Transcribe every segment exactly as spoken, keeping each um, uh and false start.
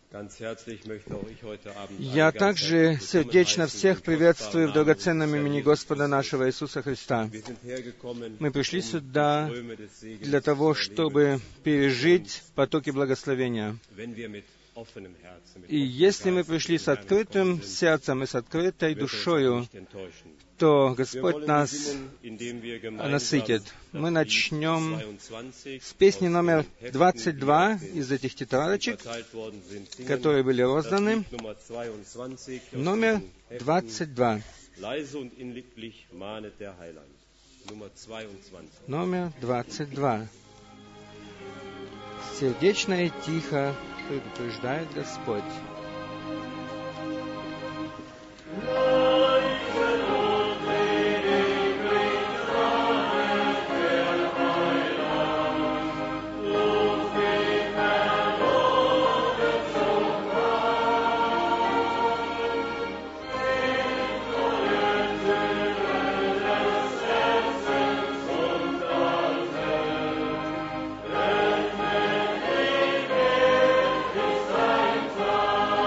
Я также сердечно всех приветствую в драгоценном имени Господа нашего Иисуса Христа. Мы пришли сюда для того, чтобы пережить потоки благословения. И если мы пришли с открытым сердцем и с открытой душою, то Господь нас насытит. Мы начнем с песни номер двадцать два из этих тетрадочек, которые были розданы. Номер двадцать два. Номер двадцать два. Сердечно и тихо предупреждает Господь. Amen.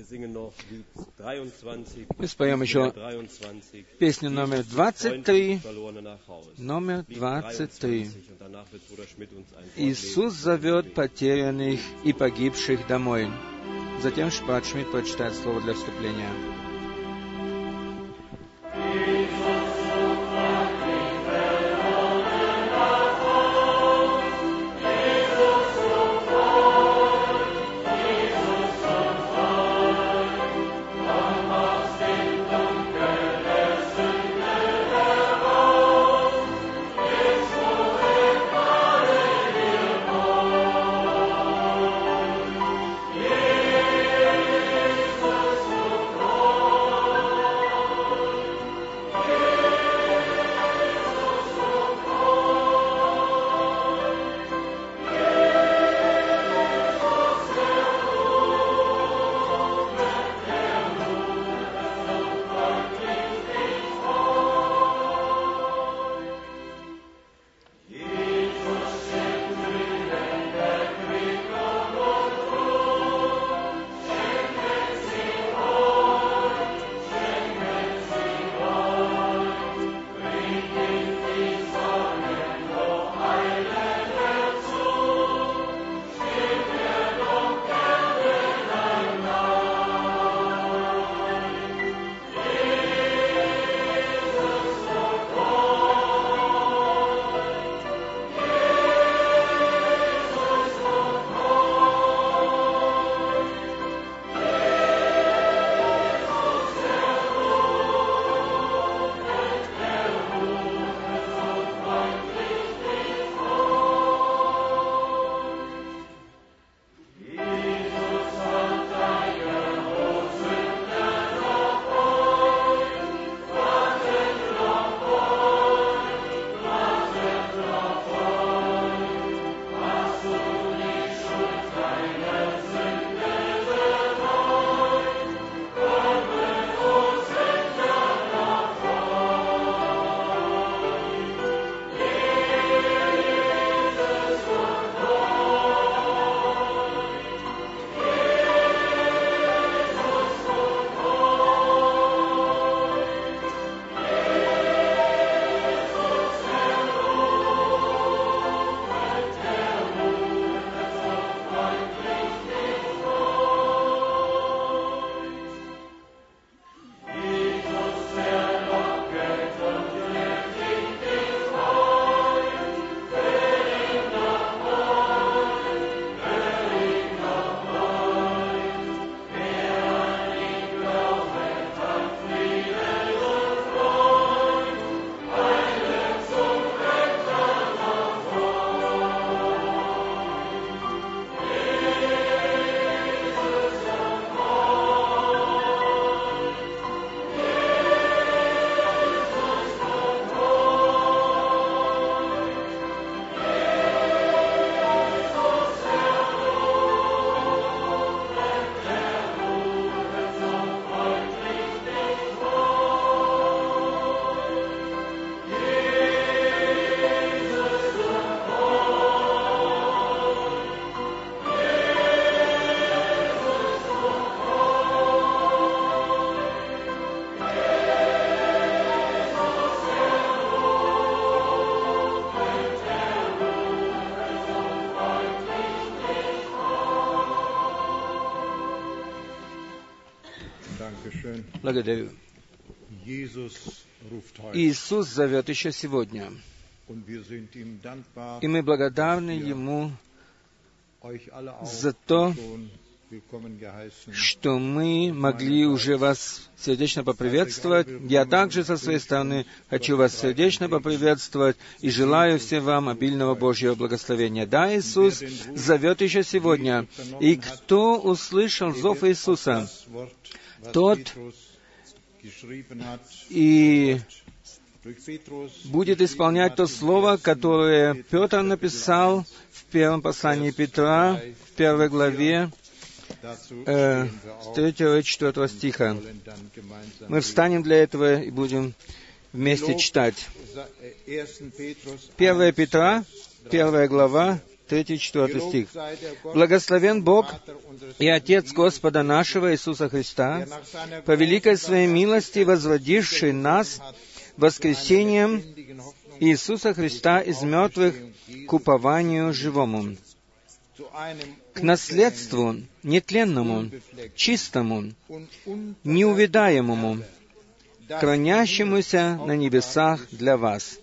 Мы споем еще песню номер двадцать три. Номер двадцать три. Иисус зовет потерянных и погибших домой. Затем брат Шмидт прочитает слово для вступления. Благодарю. Иисус зовет еще сегодня. И мы благодарны Ему за то, что мы могли уже вас сердечно поприветствовать. Я также со своей стороны хочу вас сердечно поприветствовать и желаю всем вам обильного Божьего благословения. Да, Иисус зовет еще сегодня. И кто услышал зов Иисуса, тот и будет исполнять то слово, которое Петр написал в первом послании Петра, в первой главе, э, с третьего и четвёртого стиха. Мы встанем для этого и будем вместе читать. первое Петра, первая глава, третий и четвёртый стих. «Благословен Бог и Отец Господа нашего Иисуса Христа, по великой Своей милости возводивший нас воскресением Иисуса Христа из мертвых к упованию живому, к наследству нетленному, чистому, неувидаемому, хранящемуся на небесах для вас».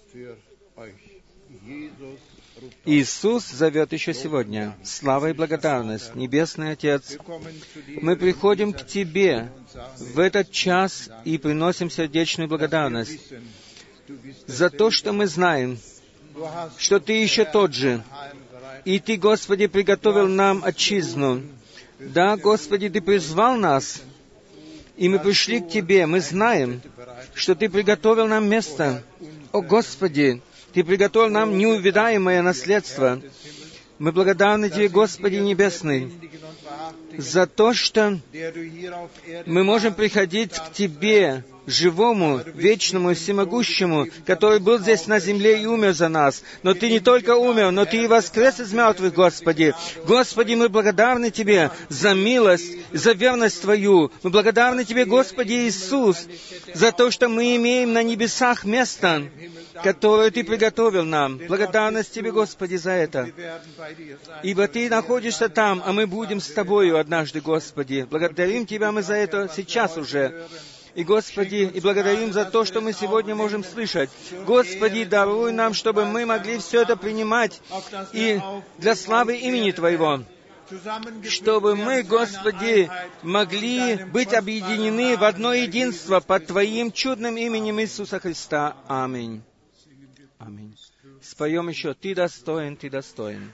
Иисус зовет еще сегодня. Слава и благодарность, Небесный Отец. Мы приходим к Тебе в этот час и приносим сердечную благодарность за то, что мы знаем, что Ты еще тот же. И Ты, Господи, приготовил нам отчизну. Да, Господи, Ты призвал нас, и мы пришли к Тебе. Мы знаем, что Ты приготовил нам место. О, Господи, Ты приготовил нам неувидаемое наследство. Мы благодарны Тебе, Господи Небесный, за то, что мы можем приходить к Тебе, живому, вечному, всемогущему, который был здесь на земле и умер за нас. Но Ты не только умер, но Ты и воскрес из мертвых, Господи. Господи, мы благодарны Тебе за милость, за верность Твою. Мы благодарны Тебе, Господи Иисус, за то, что мы имеем на небесах место, которое Ты приготовил нам. Благодарность Тебе, Господи, за это. Ибо Ты находишься там, а мы будем с Тобою однажды, Господи. Благодарим Тебя мы за это сейчас уже. И, Господи, и благодарим за то, что мы сегодня можем слышать. Господи, даруй нам, чтобы мы могли все это принимать и для славы имени Твоего, чтобы мы, Господи, могли быть объединены в одно единство под Твоим чудным именем Иисуса Христа. Аминь. Аминь. Споем еще «Ты достоин, Ты достоин».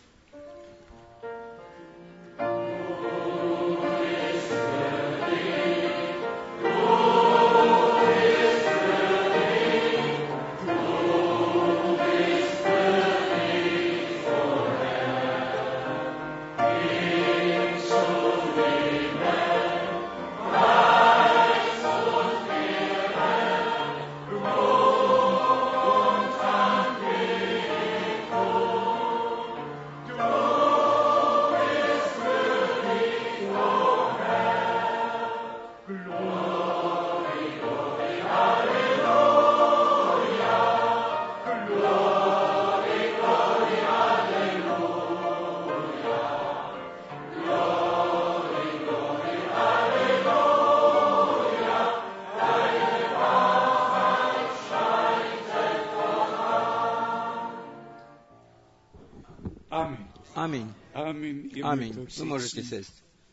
Аминь. Аминь. Вы можете сесть.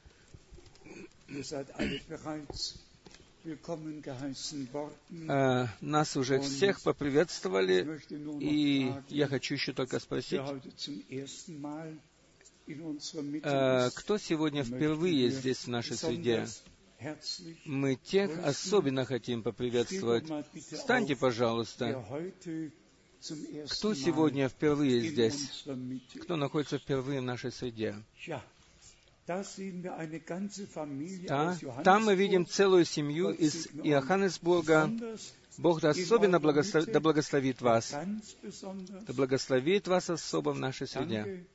Э, нас уже всех поприветствовали, и я хочу еще только спросить, э, кто сегодня впервые здесь в нашей среде? Мы тех особенно хотим поприветствовать. Встаньте, пожалуйста. Кто сегодня впервые здесь? Кто находится впервые в нашей среде? Да, там мы видим целую семью из Иоханнесбурга. Бог да особенно благословит, да благословит вас. Да благословит вас особо в нашей среде.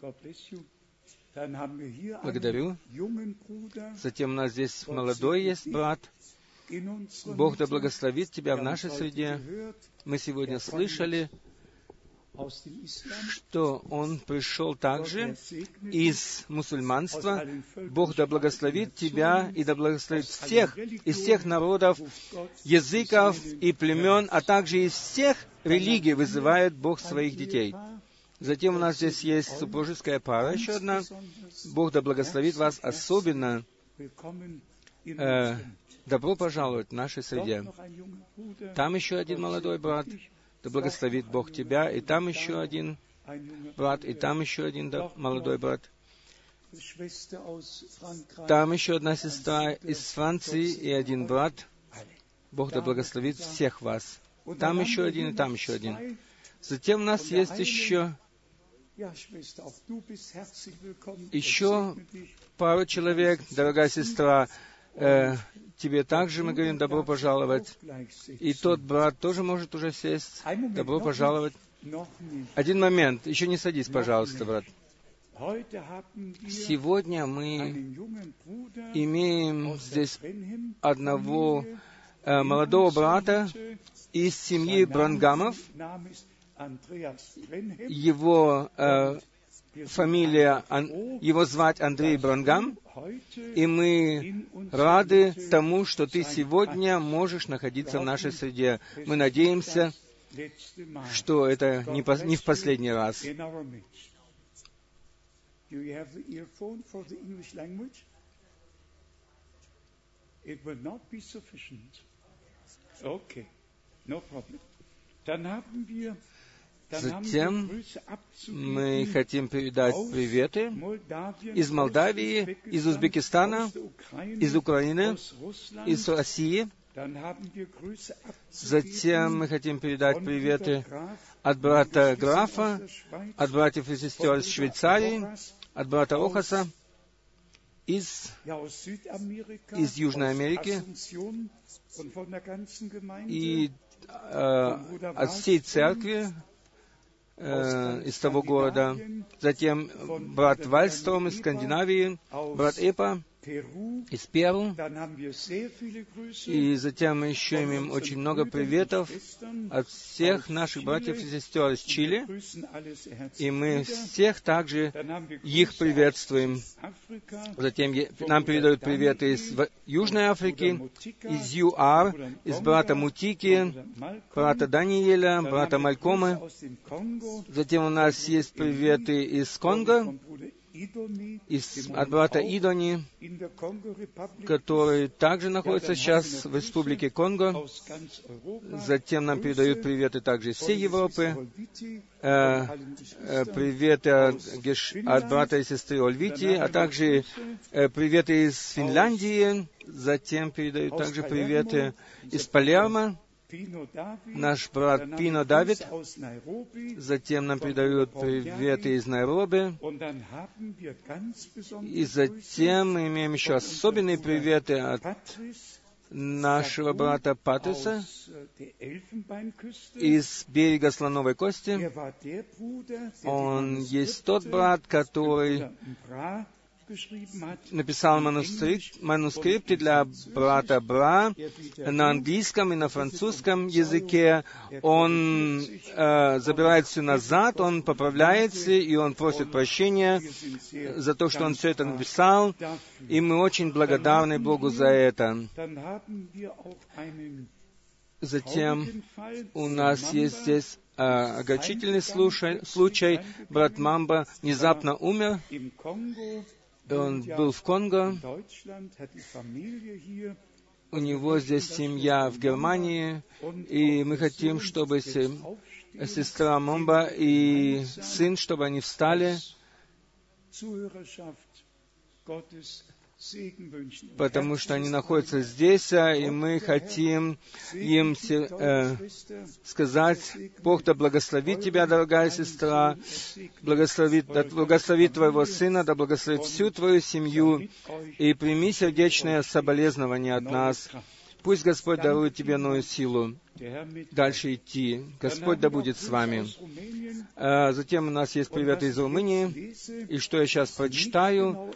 Благодарю. Затем у нас здесь молодой есть брат. Бог да благословит тебя в нашей среде. Мы сегодня слышали, что он пришел также из мусульманства. Бог да благословит тебя и да благословит всех, из всех народов, языков и племен, а также из всех религий вызывает Бог своих детей. Затем у нас здесь есть супружеская пара, еще одна. Бог да благословит вас особенно. Э, добро пожаловать в нашей среде. Там еще один молодой брат. Да благословит Бог тебя. И там еще один брат. И там еще один да, молодой брат. Там еще одна сестра из Франции и один брат. Бог да благословит всех вас. Там еще один и там еще один. Затем у нас есть еще еще пару человек, дорогая сестра. Э, тебе также мы говорим добро пожаловать. И тот брат тоже может уже сесть. Добро пожаловать. Один момент. Еще не садись, пожалуйста, брат. Сегодня мы имеем здесь одного э, молодого брата из семьи Бранхамов. Его э, фамилия, его звать Андрей Бранхам, и мы рады тому, что ты сегодня можешь находиться в нашей среде. Мы надеемся, что это не, по, не в последний раз. Затем мы хотим передать приветы из Молдавии, из Узбекистана, из Украины, из России. Затем мы хотим передать приветы от брата Графа, от братьев и сестер из Швейцарии, от брата Рохаса, из, из Южной Америки и э, от всей церкви, э, из того города. Затем брат Вальстром из Скандинавии, брат Эпа из Перу. И затем мы еще имеем очень много приветов от всех наших братьев и сестер из Чили. И мы всех также их приветствуем. Затем нам передают приветы из Южной Африки, из ЮАР, из брата Мутики, брата Даниэля, брата Малькомы. Затем у нас есть приветы из Конго, из, от брата Идони, который также находится сейчас в Республике Конго. Затем нам передают приветы также из всей Европы. Э, э, приветы от, от брата и сестры Ольвити, а также э, приветы из Финляндии. Затем передают также приветы из Палермо. Наш брат Пино Давид. Затем нам передают приветы из Найроби. И затем мы имеем еще особенные приветы от нашего брата Патриса из берега Слоновой Кости. Он есть тот брат, который написал манускрипт, манускрипты для брата Бра на английском и на французском языке. Он э, забирает все назад, он поправляется, и он просит прощения за то, что он все это написал, и мы очень благодарны Богу за это. Затем у нас есть здесь э, огорчительный случай, случай. Брат Мамба внезапно умер. Он был в Конго, у него здесь семья в Германии, и мы хотим, чтобы сестра Момба и сын, чтобы они встали, потому что они находятся здесь, и мы хотим им э, сказать: Бог да благословит тебя, дорогая сестра, благословит, да благословит твоего сына, да благословит всю твою семью, и прими сердечное соболезнование от нас. Пусть Господь дарует тебе новую силу дальше идти. Господь да будет с вами. А затем у нас есть приветы из Румынии. И что я сейчас прочитаю,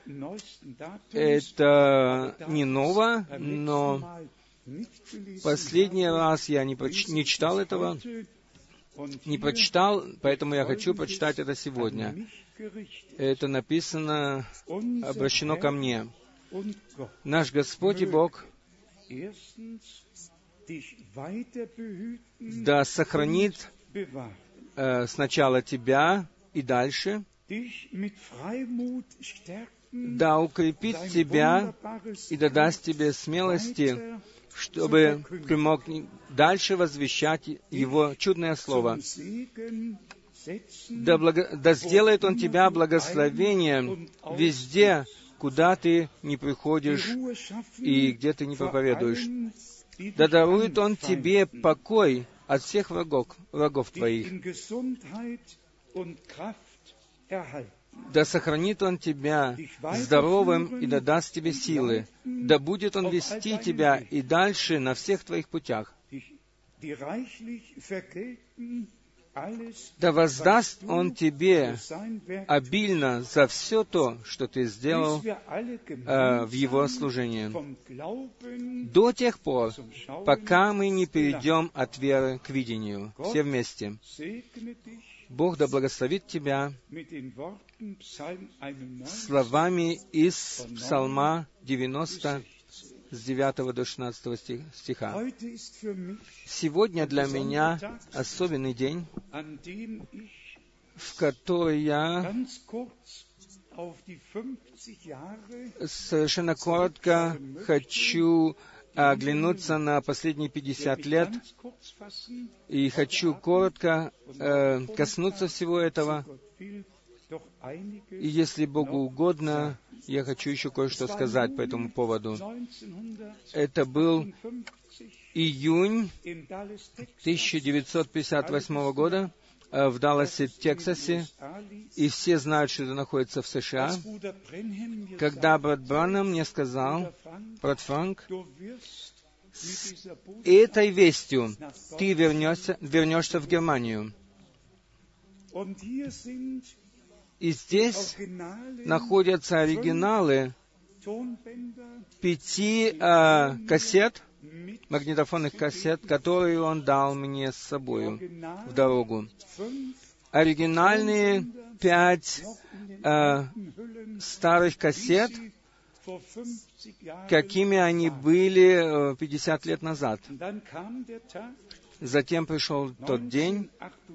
это не ново, но последний раз я не, проч... не читал этого, не прочитал, поэтому я хочу прочитать это сегодня. Это написано, обращено ко мне. Наш Господь и Бог да сохранит э, сначала тебя и дальше, да укрепит тебя и да даст тебе смелости, чтобы ты мог дальше возвещать Его чудное Слово. Да, благо... да сделает Он тебя благословением везде, куда ты не приходишь и где ты не проповедуешь. Да дарует Он тебе покой от всех врагов, врагов твоих. Да сохранит Он тебя здоровым и да даст тебе силы. Да будет Он вести тебя и дальше на всех твоих путях. да воздаст Он тебе обильно за все то, что ты сделал э, в Его служении, до тех пор, пока мы не перейдем от веры к видению, все вместе. Бог да благословит тебя словами из Псалма девяносто, с девятого до шестнадцатого стиха. Сегодня для меня особенный день, в который я совершенно коротко хочу оглянуться на последние пятьдесят лет, и хочу коротко э, коснуться всего этого. И если Богу угодно, я хочу еще кое-что сказать по этому поводу. Это был июнь тысяча девятьсот пятьдесят восьмого года в Далласе, Техасе, и все знают, что это находится в США, когда брат Бранхам мне сказал: брат Франк, с этой вестью ты вернешься, вернешься в Германию. И здесь находятся оригиналы пяти э, кассет, магнитофонных кассет, которые он дал мне с собой в дорогу. Оригинальные пять э, старых кассет, какими они были пятьдесят лет назад. Затем пришел тот день,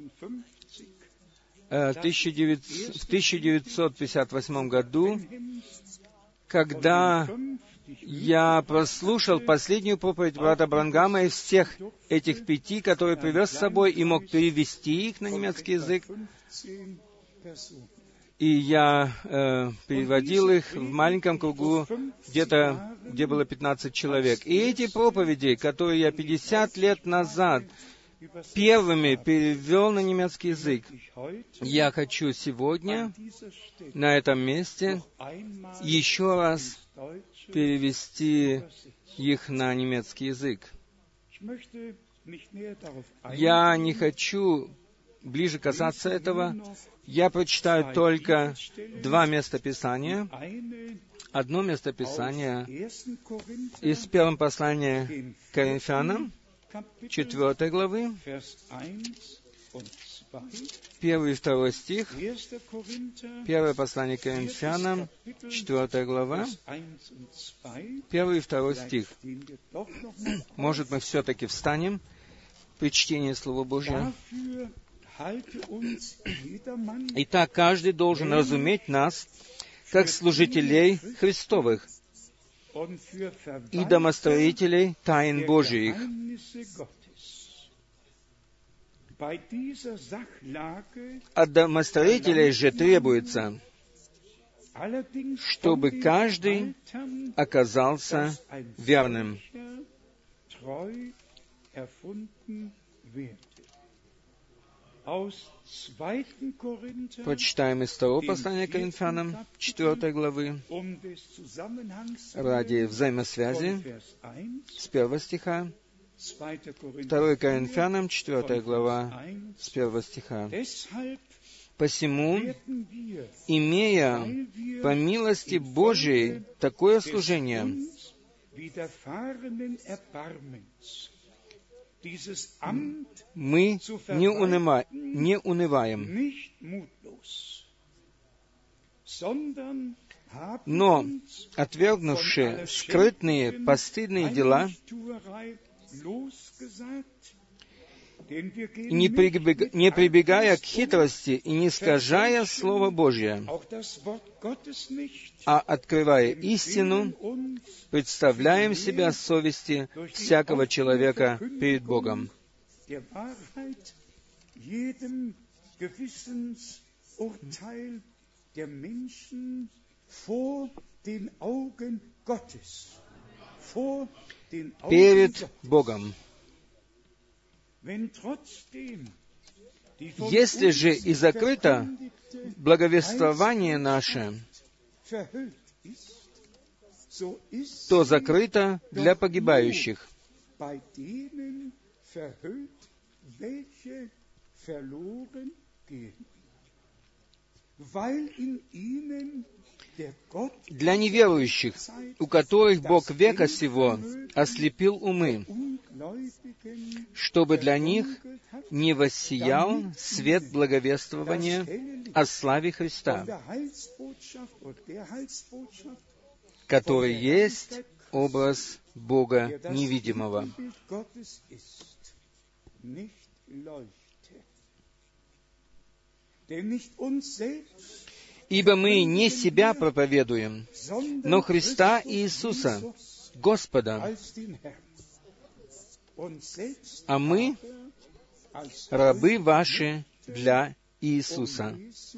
в тысяча девятьсот пятьдесят восьмом году, когда я прослушал последнюю проповедь брата Бранхама из всех этих пяти, которые привез с собой и мог перевести их на немецкий язык. И я э, переводил их в маленьком кругу, где-то, где было пятнадцать человек. И эти проповеди, которые я пятьдесят лет назад первыми перевел на немецкий язык, я хочу сегодня на этом месте еще раз перевести их на немецкий язык. Я не хочу ближе касаться этого. Я прочитаю только два местописания. Одно местописание из первого послания к Коринфянам, четвертой главы, первый и второй стих, первое послание к Коринфянам, четвертая глава, первый и второй стих. Может, мы все-таки встанем при чтении Слова Божьего? Итак, каждый должен разуметь нас, как служителей Христовых и домостроителей тайн Божиих. От домостроителей же требуется, чтобы каждый оказался верным. Прочитаем из второго послания к Коринфянам, четвертой главы, ради взаимосвязи, с первого стиха, второе Коринфянам, четвертая глава, с первого стиха. «Посему, имея по милости Божией такое служение, мы не, уныма, не унываем, но, отвергнувши скрытные, постыдные дела, не прибегая, не прибегая к хитрости и не искажая Слово Божье, а открывая истину, представляем себя совести всякого человека перед Богом». Перед Богом. Если же и закрыто благовествование наше, то закрыто для погибающих, Для неверующих, у которых Бог века сего ослепил умы, чтобы для них не воссиял свет благовествования о славе Христа, который есть образ Бога невидимого. Ибо мы не себя проповедуем, но Христа Иисуса, Господа, а мы рабы ваши для Иисуса.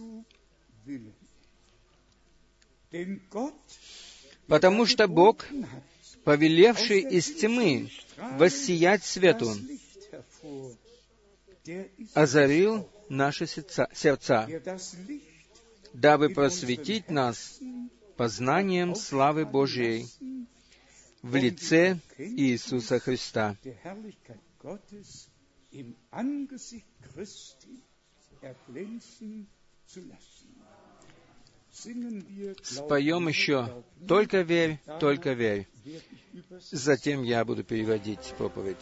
Потому что Бог, повелевший из тьмы воссиять свету, озарил наши сердца, дабы просветить нас познанием славы Божией в лице Иисуса Христа. Споем еще «Только верь, только верь». Затем я буду переводить проповедь.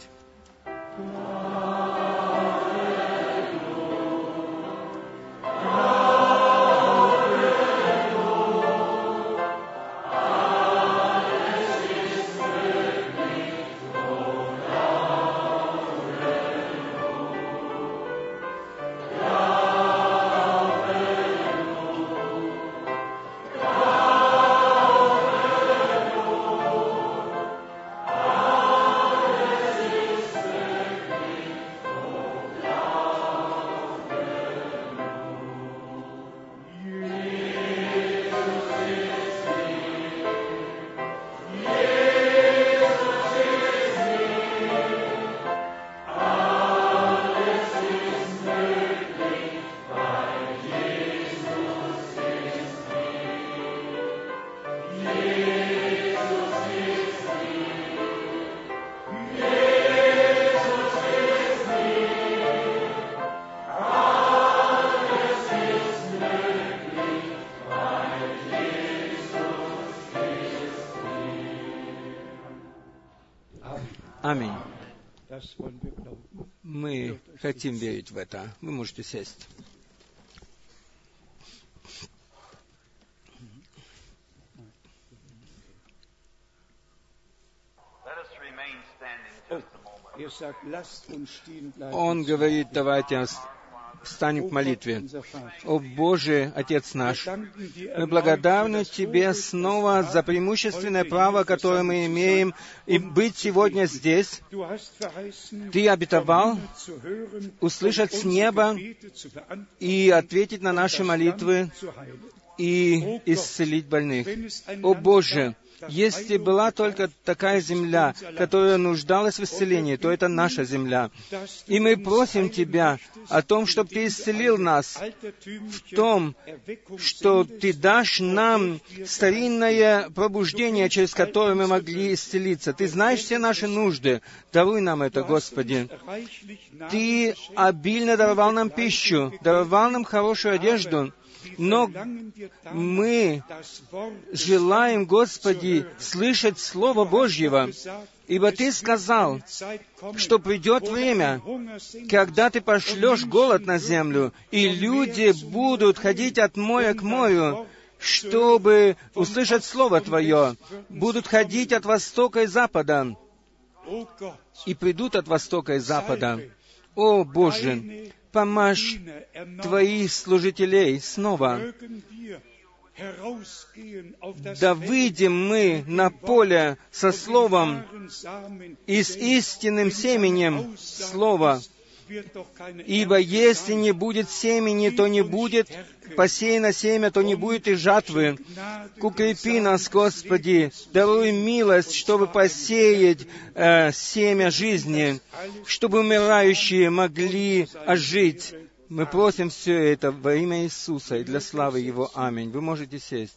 Аминь. Мы хотим верить в это. Вы можете сесть. Он говорит, давайте встанем к молитве. О Боже, Отец наш, мы благодарны Тебе снова за преимущественное право, которое мы имеем, и быть сегодня здесь. Ты обетовал услышать с неба и ответить на наши молитвы и исцелить больных. О Боже, если была только такая земля, которая нуждалась в исцелении, то это наша земля. И мы просим Тебя о том, чтобы Ты исцелил нас, в том, что Ты дашь нам старинное пробуждение, через которое мы могли исцелиться. Ты знаешь все наши нужды. Даруй нам это, Господи. Ты обильно даровал нам пищу, даровал нам хорошую одежду. Но мы желаем, Господи, слышать Слово Божьего, ибо Ты сказал, что придет время, когда Ты пошлешь голод на землю, и люди будут ходить от моря к морю, чтобы услышать Слово Твое, будут ходить от востока и запада, и придут от востока и запада. О, Боже, помажь Твоих служителей снова. Да выйдем мы на поле со словом и с истинным семенем слова. Ибо если не будет семени, то не будет посеяно семя, то не будет и жатвы. Укрепи нас, Господи, даруй милость, чтобы посеять э, семя жизни, чтобы умирающие могли ожить. Мы просим все это во имя Иисуса и для славы Его. Аминь. Вы можете сесть.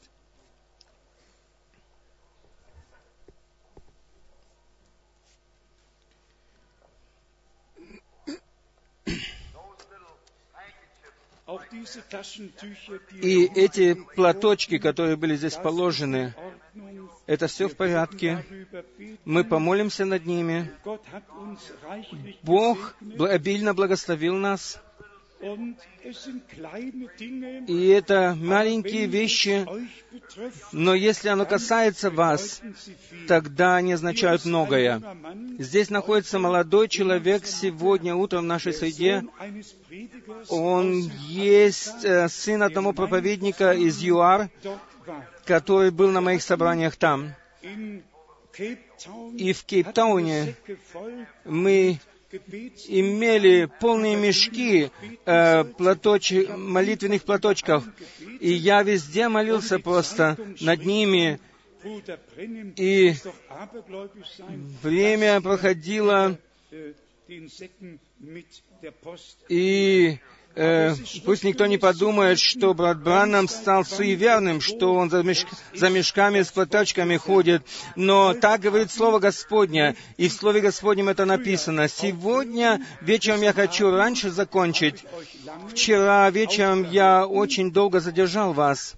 И эти платочки, которые были здесь положены, это все в порядке. Мы помолимся над ними. Бог обильно благословил нас. И это маленькие вещи, но если оно касается вас, тогда они означают многое. Здесь находится молодой человек сегодня утром в нашей среде. Он есть э, сын одного проповедника из ЮАР, который был на моих собраниях там. И в Кейптауне мы имели полные мешки э, платоч... молитвенных платочков. И я везде молился просто над ними. И время проходило, и э, пусть никто не подумает, что брат Браннам стал суеверным, что он за, меш... за мешками с платочками ходит. Но так говорит Слово Господне, и в Слове Господнем это написано. Сегодня вечером я хочу раньше закончить. Вчера вечером я очень долго задержал вас.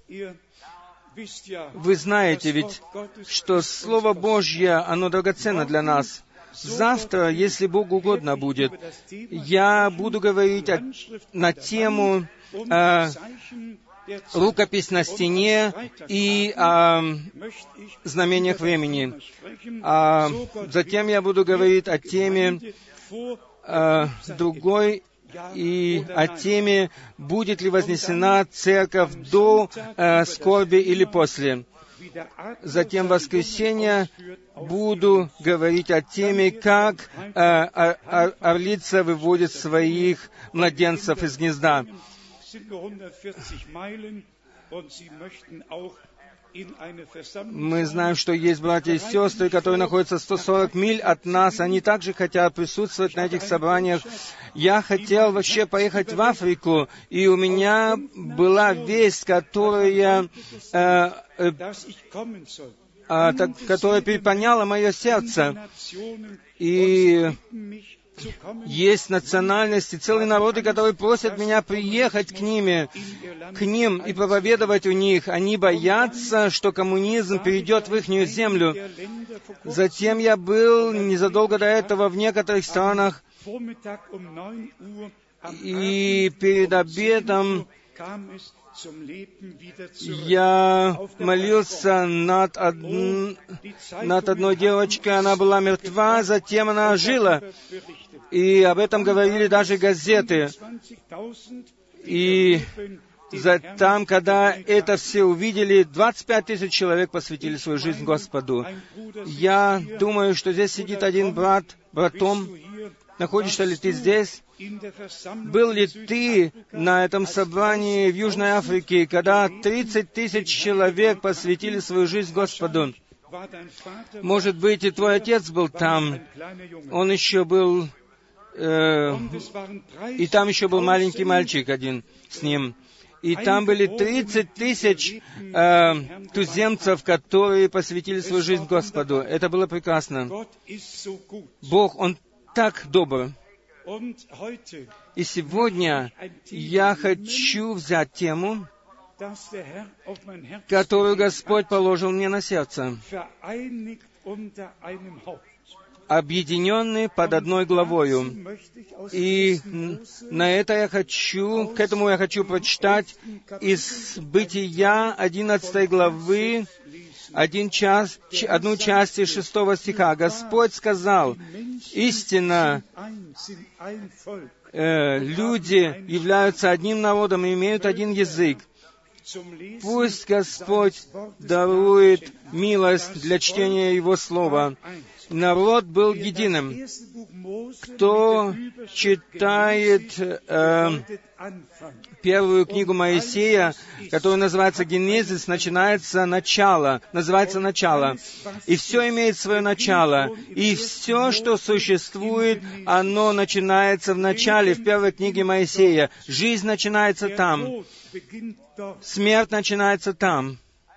Вы знаете ведь, что Слово Божье, оно драгоценно для нас. Завтра, если Богу угодно будет, я буду говорить о, на тему э, рукопись на стене и о знамениях времени. А затем я буду говорить о теме э, другой, и о теме, будет ли вознесена церковь до э, скорби или после. Затем в воскресенье буду говорить о теме, как э, ор- орлица выводит своих младенцев из гнезда. Мы знаем, что есть братья и сестры, которые находятся сто сорок миль от нас. Они также хотят присутствовать на этих собраниях. Я хотел вообще поехать в Африку, и у меня была весть, которая, э, э, э, так, которая переполняла мое сердце. И есть национальности, целые народы, которые просят меня приехать к ними, к ним и проповедовать у них. Они боятся, что коммунизм перейдет в ихнюю землю. Затем я был незадолго до этого в некоторых странах, и перед обедом я молился над, од... над одной девочкой, она была мертва, затем она ожила. И об этом говорили даже газеты. И за... там, когда это все увидели, двадцать пять тысяч человек посвятили свою жизнь Господу. Я думаю, что здесь сидит один брат, братом. Находишься ли ты здесь? Был ли ты на этом собрании в Южной Африке, когда тридцать тысяч человек посвятили свою жизнь Господу? Может быть, и твой отец был там. Он еще был... Э, и там еще был маленький мальчик один с ним. И там были тридцать тысяч э, туземцев, которые посвятили свою жизнь Господу. Это было прекрасно. Бог, Он так добр. И сегодня я хочу взять тему, которую Господь положил мне на сердце. Объединенные под одной главою. И на это я хочу, к этому я хочу прочитать из Бытия одиннадцатой главы, один час, одну часть из шестого стиха. Господь сказал: истинно, э, люди являются одним народом и имеют один язык. Пусть Господь дарует милость для чтения Его Слова. Народ был единым. Кто читает э, первую книгу Моисея, которая называется Генезис, начинается начало, называется начало. И все имеет свое начало. И все, что существует, оно начинается в начале, в первой книге Моисея. Жизнь начинается там. Смерть начинается там.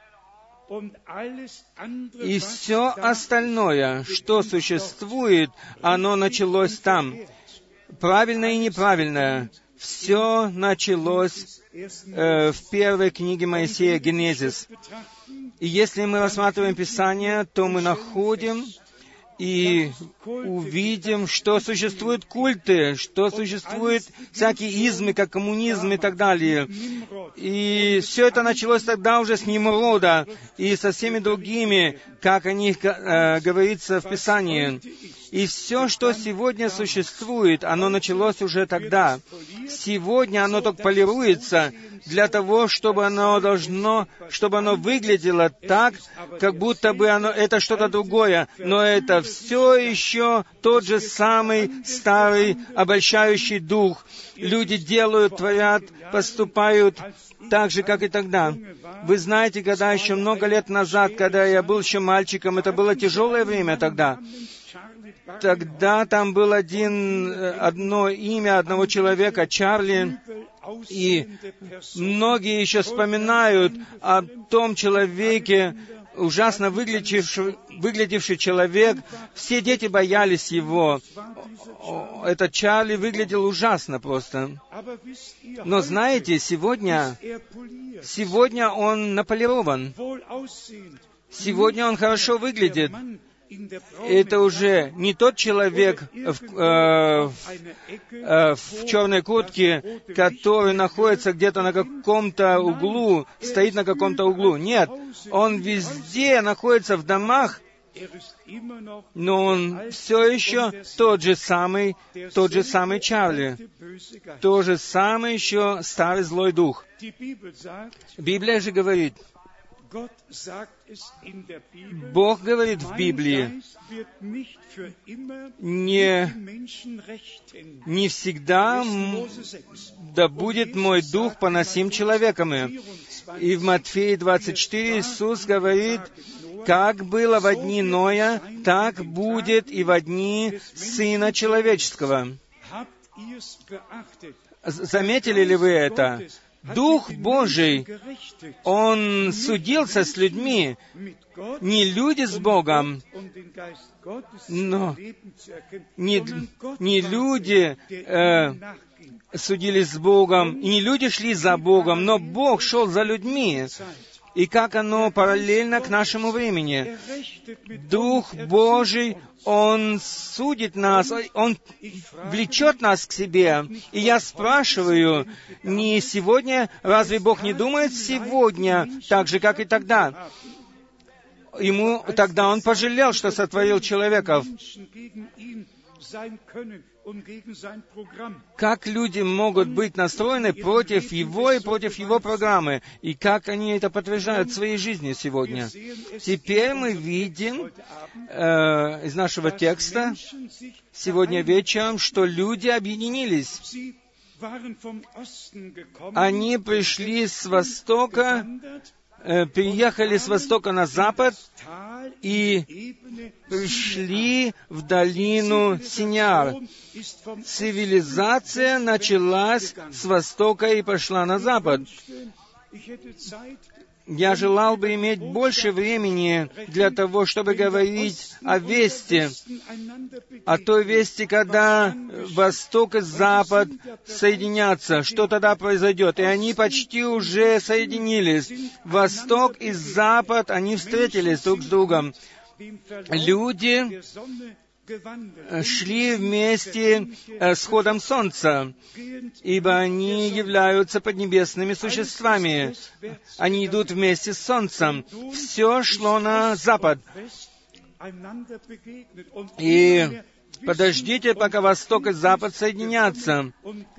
И все остальное, что существует, оно началось там. Правильное и неправильное. Все началось э, в первой книге Моисея, Генезис. И если мы рассматриваем Писание, то мы находим и увидим, что существуют культы, что существуют всякие измы, как коммунизм и так далее. И все это началось тогда уже с Нимрода и со всеми другими, как о них э, говорится в Писании. И все, что сегодня существует, оно началось уже тогда. Сегодня оно только полируется для того, чтобы оно должно, чтобы оно выглядело так, как будто бы оно, это что-то другое. Но это все еще тот же самый старый обольщающий дух. Люди делают, творят, поступают так же, как и тогда. Вы знаете, когда еще много лет назад, когда я был еще мальчиком, это было тяжелое время тогда. Тогда там было один, одно имя одного человека, Чарли, и многие еще вспоминают о том человеке, ужасно выглядевший, выглядевший человек. Все дети боялись его. Этот Чарли выглядел ужасно просто. Но знаете, сегодня, сегодня он наполирован. Сегодня он хорошо выглядит. Это уже не тот человек в, э, э, в черной куртке, который находится где-то на каком-то углу, стоит на каком-то углу. Нет, он везде находится в домах, но он все еще тот же самый, тот же самый Чарли, тот же самый еще старый злой дух. Библия же говорит, Бог говорит в Библии, не, не всегда да будет мой дух поносим человеками. И в Матфея двадцать четыре Иисус говорит, как было во дни Ноя, так будет и во дни Сына Человеческого. Заметили ли вы это? Дух Божий, Он судился с людьми, не люди с Богом, но не, не люди э, судились с Богом, и не люди шли за Богом, но Бог шел за людьми. И как оно параллельно к нашему времени. Дух Божий, Он судит нас, Он влечет нас к себе. И я спрашиваю, не сегодня, разве Бог не думает сегодня так же, как и тогда? Ему тогда Он пожалел, что сотворил человеков. Как люди могут быть настроены против Его и против Его программы, и как они это подтверждают в своей жизни сегодня. Теперь мы видим э, из нашего текста сегодня вечером, что люди объединились. Они пришли с востока, э, переехали с востока на запад и пришли в долину Синяр. Цивилизация началась с востока и пошла на запад. Я желал бы иметь больше времени для того, чтобы говорить о вести, о той вести, когда Восток и Запад соединятся, что тогда произойдет. И они почти уже соединились. Восток и Запад, они встретились друг с другом. Люди шли вместе с ходом солнца, ибо они являются поднебесными существами. Они идут вместе с солнцем. Все шло на запад. И подождите, пока Восток и Запад соединятся.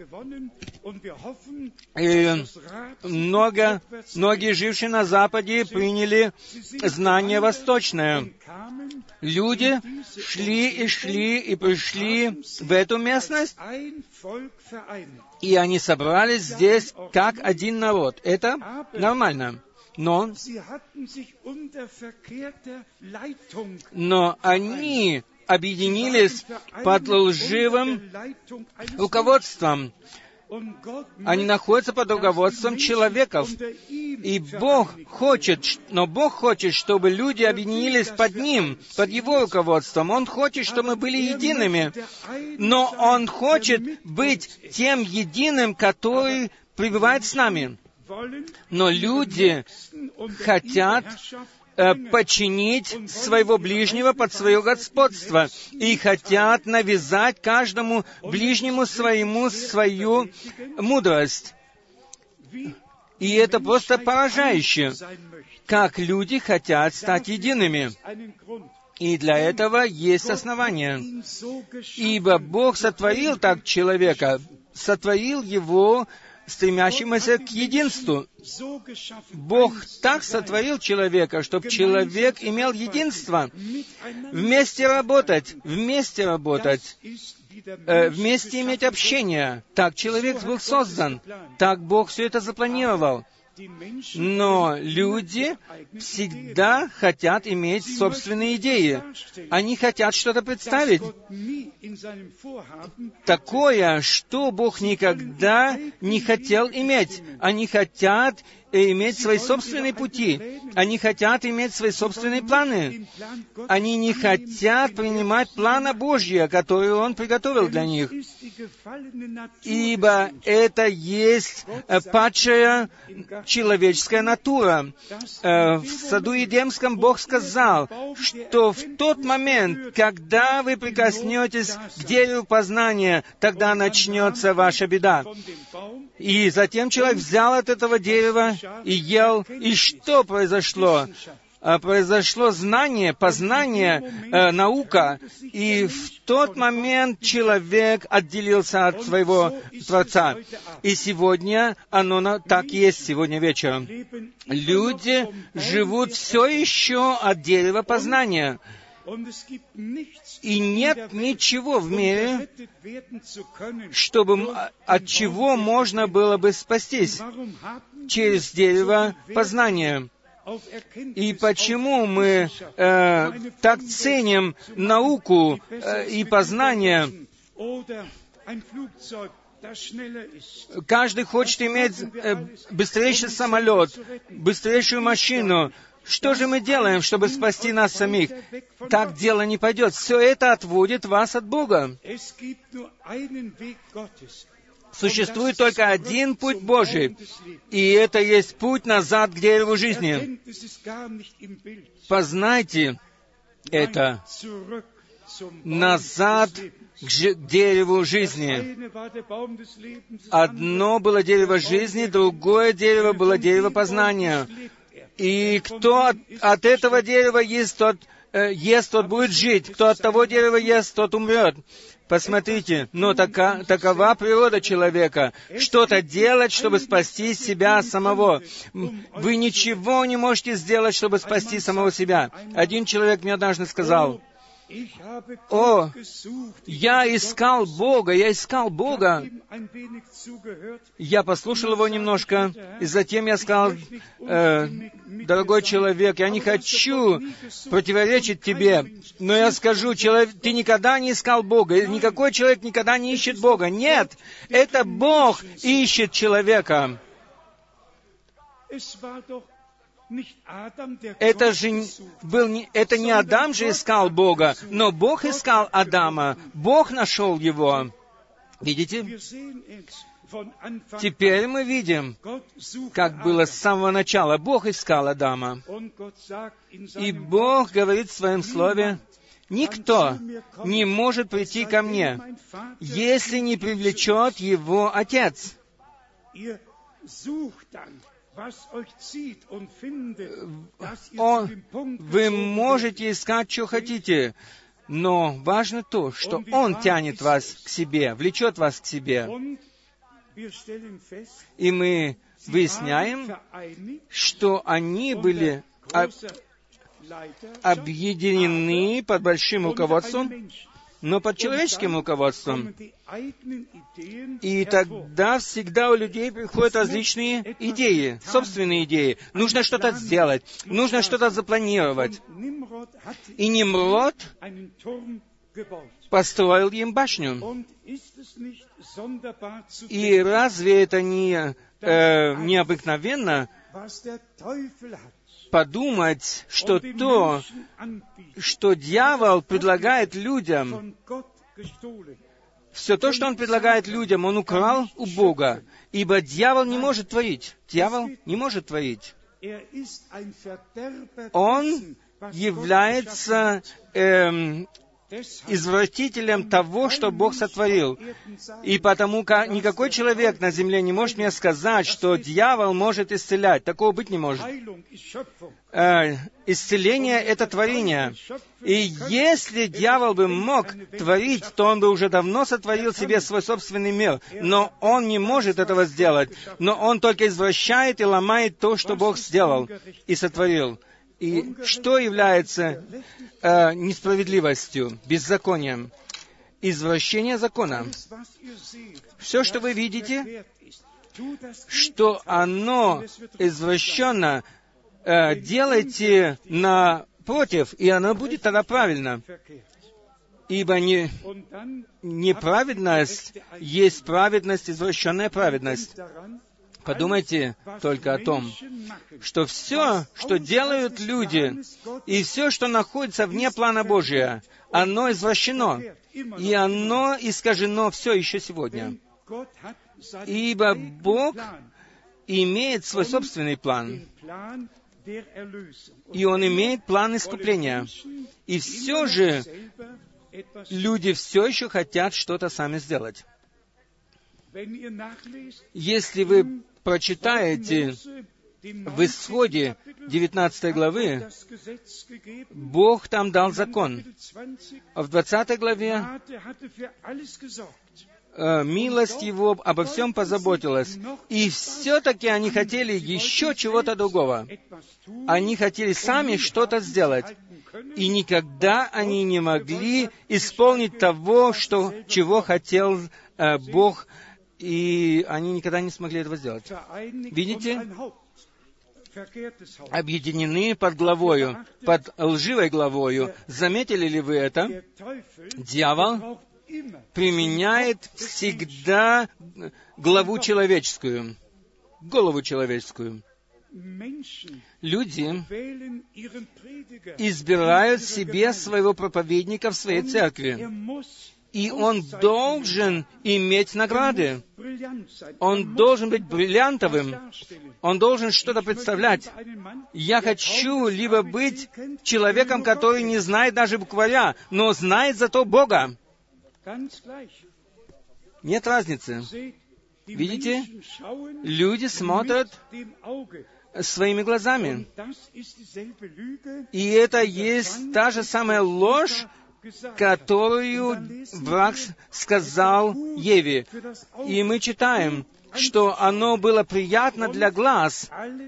И много, многие, жившие на Западе, приняли знание восточное. Люди шли и шли и пришли в эту местность, и они собрались здесь как один народ. Это нормально. Но, но они объединились под лживым руководством. Они находятся под руководством человеков. И Бог хочет, но Бог хочет, чтобы люди объединились под Ним, под Его руководством. Он хочет, чтобы мы были едиными. Но Он хочет быть тем единым, который пребывает с нами. Но люди хотят э, подчинить своего ближнего под свое господство и хотят навязать каждому ближнему своему свою мудрость. И это просто поражающе, как люди хотят стать едиными. И для этого есть основания. Ибо Бог сотворил так человека, сотворил его стремящимся к единству. Бог так сотворил человека, чтобы человек имел единство. Вместе работать, вместе работать, э, вместе иметь общение. Так человек был создан. Так Бог все это запланировал. Но люди всегда хотят иметь собственные идеи. Они хотят что-то представить такое, что Бог никогда не хотел иметь. Они хотят иметь свои собственные пути. Они хотят иметь свои собственные планы. Они не хотят принимать плана Божьего, который Он приготовил для них. Ибо это есть падшая человеческая натура. В саду Эдемском Бог сказал, что в тот момент, когда вы прикоснетесь к дереву познания, тогда начнется ваша беда. И затем человек взял от этого дерева и ел. И что произошло? Произошло знание, познание, э, наука. И в тот момент человек отделился от своего Творца. И сегодня оно на, так есть, сегодня вечером. Люди живут все еще от дерева познания. И нет ничего в мире, чтобы, от чего можно было бы спастись через дерево познания. И почему мы э, так ценим науку э, и познание? Каждый хочет иметь э, быстрейший самолет, быстрейшую машину. Что же мы делаем, чтобы спасти нас самих? Так дело не пойдет. Все это отводит вас от Бога. Существует только один путь Божий, и это есть путь назад к дереву жизни. Познайте это. Назад к ж- дереву жизни. Одно было дерево жизни, другое дерево было дерево познания. И кто от, от этого дерева ест, тот, э, ест, тот будет жить. Кто от того дерева ест, тот умрет. Посмотрите, но така, такова природа человека. Что-то делать, чтобы спасти себя самого. Вы ничего не можете сделать, чтобы спасти самого себя. Один человек мне однажды сказал: «О, я искал Бога, я искал Бога». Я послушал его немножко, и затем я сказал: э, «Дорогой человек, я не хочу противоречить тебе, но я скажу, человек, ты никогда не искал Бога, никакой человек никогда не ищет Бога. Нет, это Бог ищет человека». Это же был не, это не Адам же искал Бога, но Бог искал Адама. Бог нашел его. Видите? Теперь мы видим, как было с самого начала. Бог искал Адама. И Бог говорит в Своем Слове: «Никто не может прийти ко мне, если не привлечет его Отец». Он, вы можете искать, что хотите, но важно то, что Он тянет вас к себе, влечет вас к себе. И мы выясняем, что они были объединены под большим руководством, но под человеческим руководством. И тогда всегда у людей приходят различные идеи, собственные идеи. Нужно что-то сделать, нужно что-то запланировать. И Нимрод построил им башню. И разве это не э, необыкновенно подумать, что то, что дьявол предлагает людям, все то, что он предлагает людям, он украл у Бога, ибо дьявол не может творить. Дьявол не может творить. Он является эм, извратителем того, что Бог сотворил. И потому как никакой человек на земле не может мне сказать, что дьявол может исцелять. Такого быть не может. Э, исцеление — это творение. И если дьявол бы мог творить, то он бы уже давно сотворил себе свой собственный мир. Но он не может этого сделать. Но он только извращает и ломает то, что Бог сделал и сотворил. И что является э, несправедливостью, беззаконием? Извращение закона. Все, что вы видите, что оно извращенно, э, делайте напротив, и оно будет тогда правильно. Ибо не, неправедность есть праведность, извращенная праведность. Подумайте только о том, что все, что делают люди, и все, что находится вне плана Божия, оно извращено, и оно искажено все еще сегодня. Ибо Бог имеет свой собственный план, и Он имеет план искупления. И все же люди все еще хотят что-то сами сделать. Если вы прочитаете в Исходе девятнадцатой главы, Бог там дал закон. В двадцатой главе э, милость Его обо всем позаботилась. И все-таки они хотели еще чего-то другого. Они хотели сами что-то сделать. И никогда они не могли исполнить того, что, чего хотел э, Бог, и они никогда не смогли этого сделать. Видите? Объединены под главою, под лживой главою. Заметили ли вы это? Дьявол применяет всегда главу человеческую, голову человеческую. Люди избирают себе своего проповедника в своей церкви. И он должен иметь награды. Он должен быть бриллиантовым. Он должен что-то представлять. Я хочу либо быть человеком, который не знает даже букваря, но знает зато Бога. Нет разницы. Видите? Люди смотрят своими глазами. И это есть та же самая ложь, которую враг сказал Еве. И мы читаем, что оно было приятно для глаз.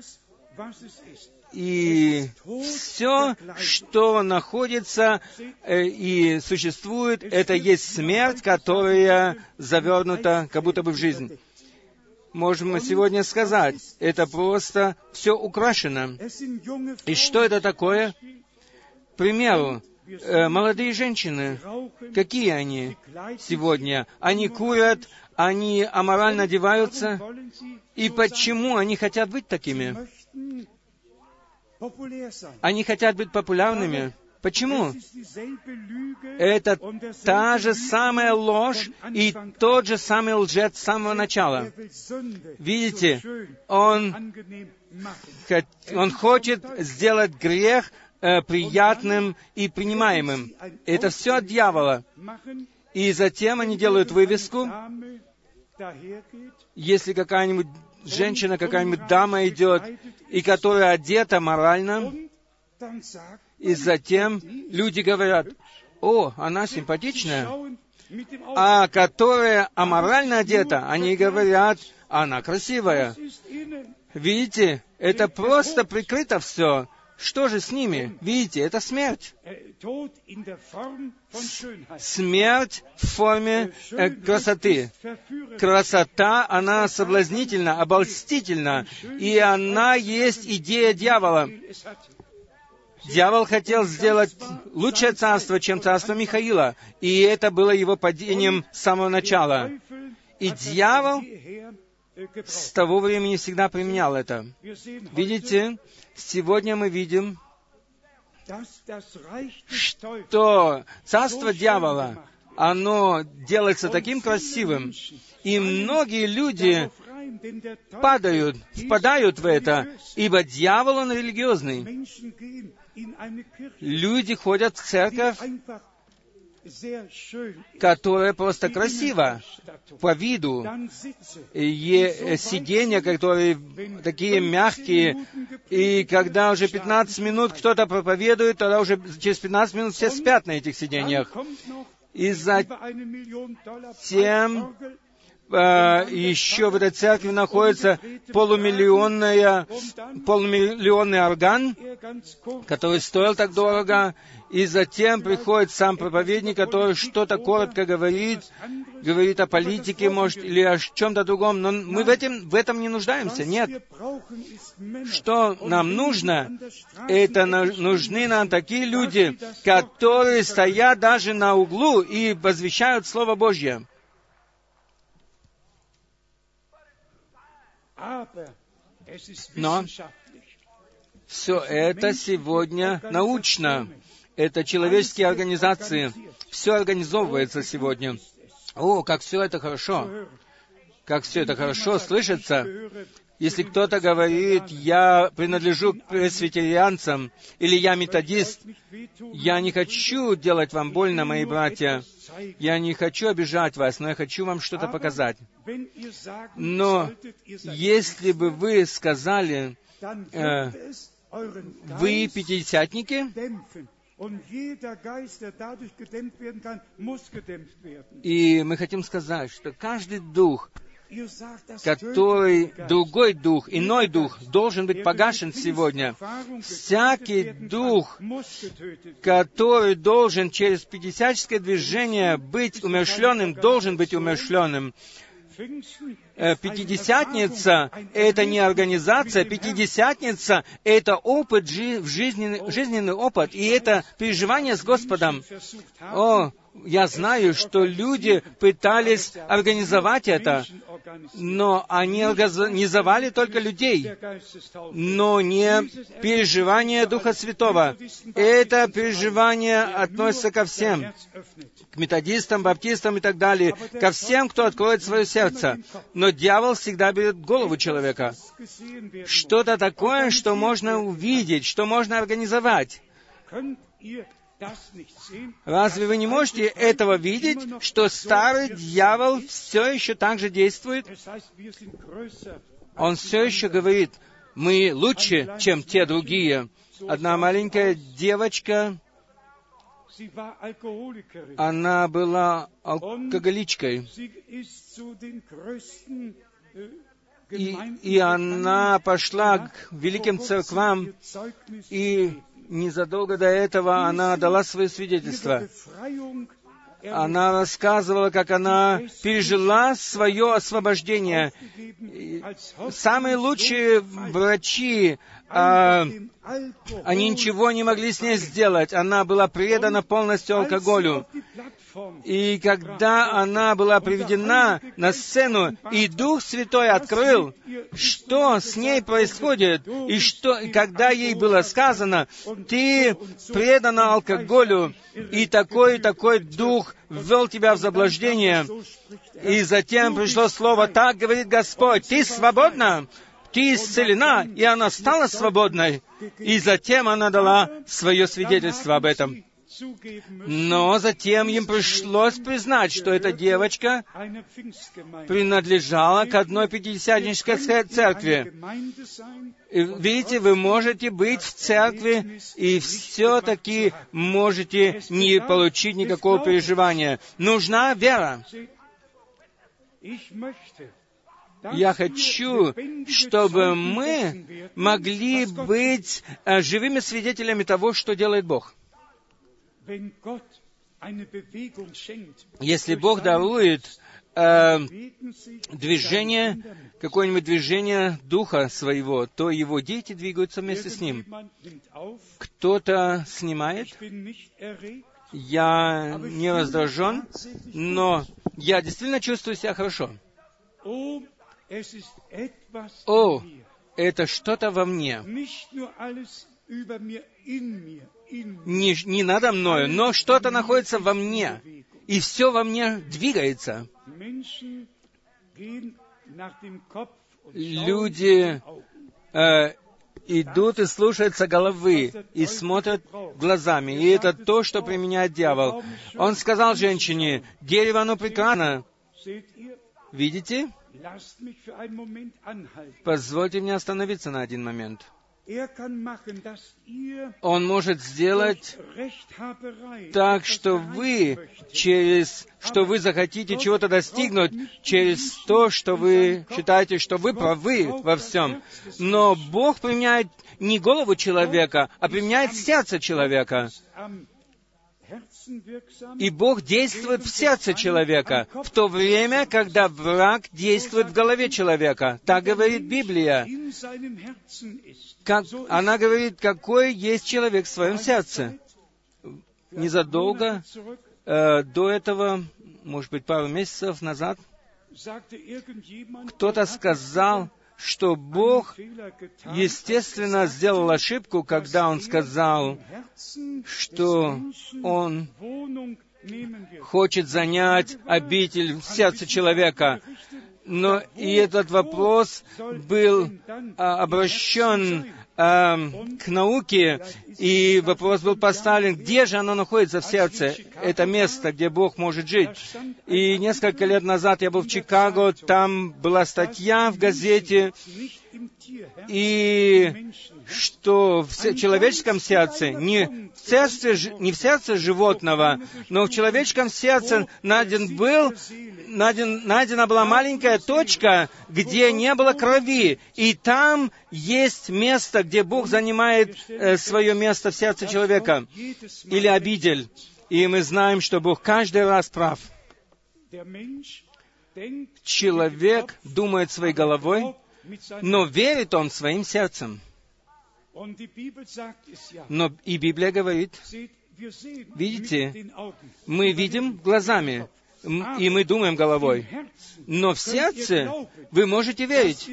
И все, что находится э, и существует, это есть смерть, которая завернута как будто бы в жизнь. Можем мы сегодня сказать, это просто все украшено. И что это такое? К примеру, э, молодые женщины, какие они сегодня? Они курят, они аморально одеваются. И почему они хотят быть такими? Они хотят быть популярными. Почему? Это та же самая ложь и тот же самый лжец с самого начала. Видите, он, он хочет сделать грех э, приятным и принимаемым. Это все от дьявола. И затем они делают вывеску. Если какая-нибудь женщина, какая-нибудь дама идет, и которая одета морально, и затем люди говорят: «О, она симпатичная», а которая аморально одета, они говорят: «Она красивая». Видите, это просто прикрыто все. Что же с ними? Видите, это смерть. Смерть в форме э, красоты. Красота, она соблазнительна, обольстительна, и она есть идея дьявола. Дьявол хотел сделать лучшее царство, чем царство Михаила, и это было его падением с самого начала. И дьявол с того времени всегда применял это. Видите, сегодня мы видим, что царство дьявола, оно делается таким красивым, и многие люди падают, впадают в это, ибо дьявол, он религиозный. Люди ходят в церковь, которая просто красива по виду, и сиденья, которые такие мягкие, и когда уже пятнадцать минут кто-то проповедует, тогда уже через пятнадцать минут все спят на этих сиденьях. И затем Uh, еще в этой церкви находится полумиллионная, полумиллионный орган, который стоил так дорого, и затем приходит сам проповедник, который что-то коротко говорит, говорит о политике, может, или о чем-то другом, но мы в этом, в этом не нуждаемся, нет. Что нам нужно? Это нужны нам такие люди, которые стоят даже на углу и возвещают Слово Божье. Но все это сегодня научно. Это человеческие организации. Все организовывается сегодня. О, как все это хорошо. Как все это хорошо слышится. Если кто-то говорит, я принадлежу к пресвитерианцам, или я методист, я не хочу делать вам больно, мои братья. Я не хочу обижать вас, но я хочу вам что-то показать. Но если бы вы сказали, э, вы пятидесятники, и мы хотим сказать, что каждый дух, который, другой дух, иной дух, должен быть погашен сегодня. Всякий дух, который должен через пятидесятническое движение быть умерщвленным, должен быть умерщвленным. Пятидесятница — это не организация, Пятидесятница — это опыт, жизненный, жизненный опыт, и это переживание с Господом. О, я знаю, что люди пытались организовать это, но они организовали только людей, но не переживание Духа Святого. Это переживание относится ко всем, к методистам, баптистам и так далее, ко всем, кто откроет свое сердце. Но дьявол всегда берет голову человека. Что-то такое, что можно увидеть, что можно организовать. Разве вы не можете этого видеть, что старый дьявол все еще так же действует? Он все еще говорит, мы лучше, чем те другие. Одна маленькая девочка, она была алкоголичкой, и, и она пошла к великим церквам, и незадолго до этого она дала свое свидетельство. Она рассказывала, как она пережила свое освобождение. Самые лучшие врачи, а, они ничего не могли с ней сделать. Она была предана полностью алкоголю. И когда она была приведена на сцену, и Дух Святой открыл, что с ней происходит, и что, когда ей было сказано, ты предана алкоголю, и такой и такой дух ввел тебя в заблуждение, и затем пришло слово, так говорит Господь, ты свободна, ты исцелена, и она стала свободной, и затем она дала свое свидетельство об этом. Но затем им пришлось признать, что эта девочка принадлежала к одной пятидесятнической церкви. И, видите, вы можете быть в церкви и все-таки можете не получить никакого переживания. Нужна вера. Я хочу, чтобы мы могли быть живыми свидетелями того, что делает Бог. Если Бог дарует э, движение, какое-нибудь движение Духа Своего, то Его дети двигаются вместе с Ним. Кто-то снимает. Я не раздражен, но я действительно чувствую себя хорошо. О, это что-то во мне. Не, не надо мною, но что-то находится во мне. И все во мне двигается. Люди э, идут и слушаются головы, и смотрят глазами. И это то, что применяет дьявол. Он сказал женщине: дерево, оно прекрасно. Видите? Позвольте мне остановиться на один момент. Он может сделать так, что вы через, что вы захотите чего-то достигнуть, через то, что вы считаете, что вы правы во всем. Но Бог применяет не голову человека, а применяет сердце человека. И Бог действует в сердце человека, в то время, когда враг действует в голове человека. Так говорит Библия. Как, она говорит, какой есть человек в своем сердце. Незадолго э, до этого, может быть, пару месяцев назад, кто-то сказал, что Бог, естественно, сделал ошибку, когда Он сказал, что Он хочет занять обитель в сердце человека. Но и этот вопрос был а, обращен а, к науке, и вопрос был поставлен, где же оно находится в сердце, это место, где Бог может жить. И несколько лет назад я был в Чикаго, там была статья в газете, и что в человеческом сердце, не в сердце, не в сердце животного, но в человеческом сердце найден был, найден, найдена была маленькая точка, где не было крови, и там есть место, где Бог занимает э, свое место в сердце человека, или обитель. И мы знаем, что Бог каждый раз прав. Человек думает своей головой, но верит он своим сердцем. Но и Библия говорит, видите, мы видим глазами, и мы думаем головой. Но в сердце вы можете верить.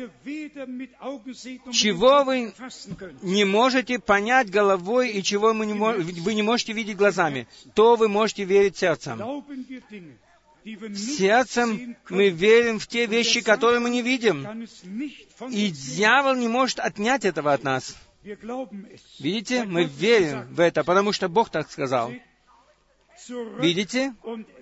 Чего вы не можете понять головой, и чего вы не, вы не можете видеть глазами, то вы можете верить сердцем. Сердцем мы верим в те вещи, которые мы не видим. И дьявол не может отнять этого от нас. Видите, мы верим в это, потому что Бог так сказал. Видите?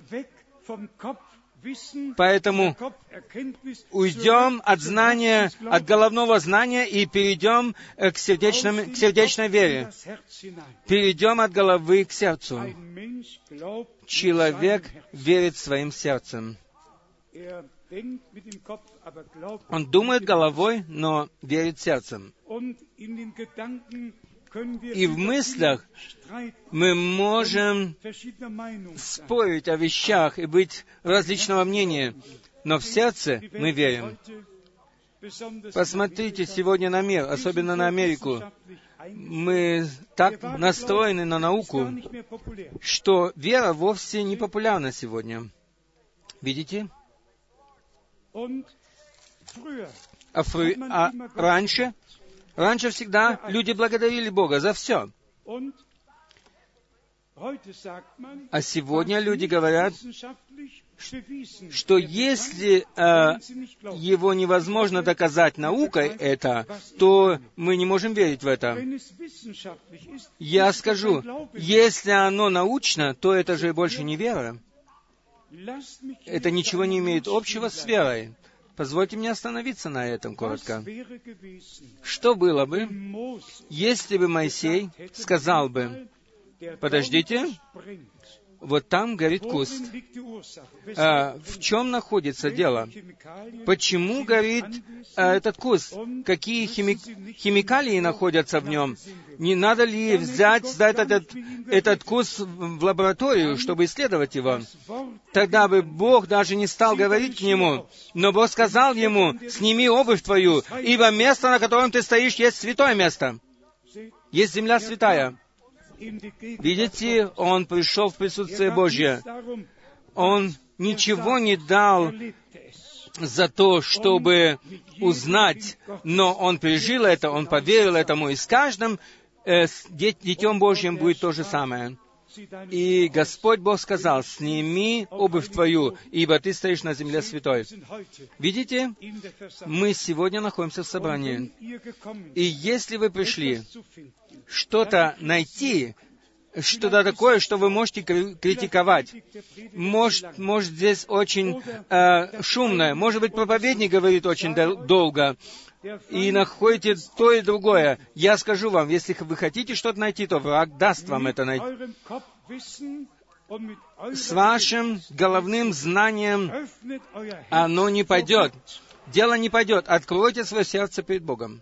Поэтому уйдем от знания, от головного знания и перейдем к, сердечным, к сердечной вере. Перейдем от головы к сердцу. Человек верит своим сердцем. Он думает головой, но верит сердцем. И в мыслях мы можем спорить о вещах и быть различного мнения, но в сердце мы верим. Посмотрите сегодня на мир, особенно на Америку. Мы так настроены на науку, что вера вовсе не популярна сегодня. Видите? А, фры... а раньше... Раньше всегда люди благодарили Бога за все. А сегодня люди говорят, что если э, его невозможно доказать наукой это, то мы не можем верить в это. Я скажу, если оно научно, то это же больше не вера. Это ничего не имеет общего с верой. Позвольте мне остановиться на этом коротко. Что было бы, если бы Моисей сказал бы, подождите, вот там горит куст. А, в чем находится дело? Почему горит а, этот куст? Какие хими... химикалии находятся в нем? Не надо ли взять, сдать этот, этот куст в лабораторию, чтобы исследовать его? Тогда бы Бог даже не стал говорить к нему. Но Бог сказал ему: «Сними обувь твою, ибо место, на котором ты стоишь, есть святое место. Есть земля святая». Видите, он пришел в присутствие Божье. Он ничего не дал за то, чтобы узнать, но он пережил это, он поверил этому, и с каждым э, с Детем Божьим будет то же самое. И Господь Бог сказал: «Сними обувь твою, ибо ты стоишь на земле святой». Видите, мы сегодня находимся в собрании. И если вы пришли что-то найти, что-то такое, что вы можете критиковать, может, может здесь очень э, шумно, может быть, проповедник говорит очень дол- долго, и находите то и другое. Я скажу вам, если вы хотите что-то найти, то враг даст вам это найти. С вашим головным знанием оно не пойдет. Дело не пойдет. Откройте свое сердце перед Богом.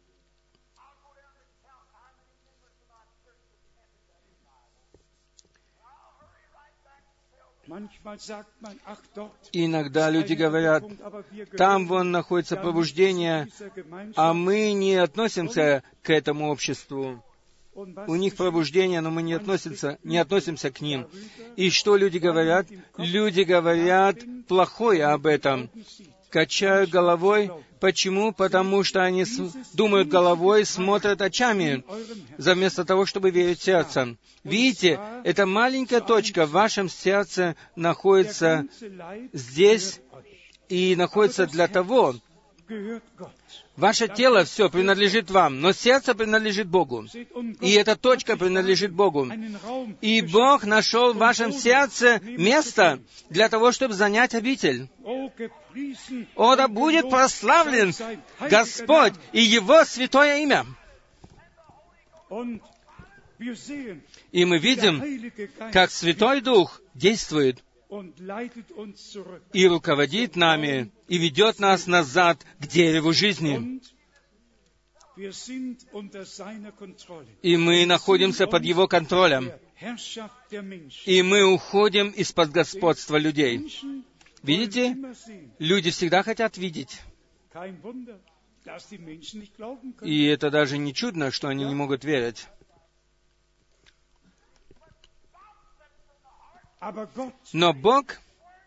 Иногда люди говорят: там вон находится пробуждение, а мы не относимся к этому обществу. У них пробуждение, но мы не относимся, не относимся к ним. И что люди говорят? Люди говорят плохое об этом. Качают головой. Почему? Потому что они с... думают головой, смотрят очами, вместо того, чтобы верить сердцем. Видите, эта маленькая точка в вашем сердце находится здесь и находится для того. Ваше тело все принадлежит вам, но сердце принадлежит Богу. И эта точка принадлежит Богу. И Бог нашел в вашем сердце место для того, чтобы занять обитель. О, да будет прославлен Господь и Его святое имя. И мы видим, как Святой Дух действует и руководит нами, и ведет нас назад к дереву жизни. И мы находимся под Его контролем. И мы уходим из-под господства людей. Видите? Люди всегда хотят видеть. И это даже не чудно, что они не могут верить. Но Бог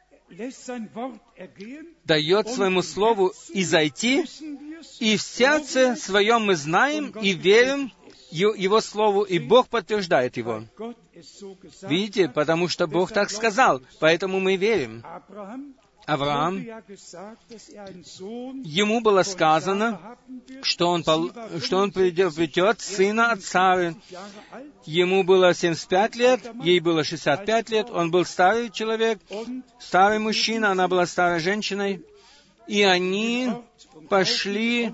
дает своему Слову изойти, и в сердце своем мы знаем и верим Его Слову, и Бог подтверждает его. Видите, потому что Бог так сказал, поэтому мы верим. Авраам, ему было сказано, что он, что он придет сына от Сары. Ему было семьдесят пять лет, ей было шестьдесят пять лет, он был старый человек, старый мужчина, она была старой женщиной. И они пошли,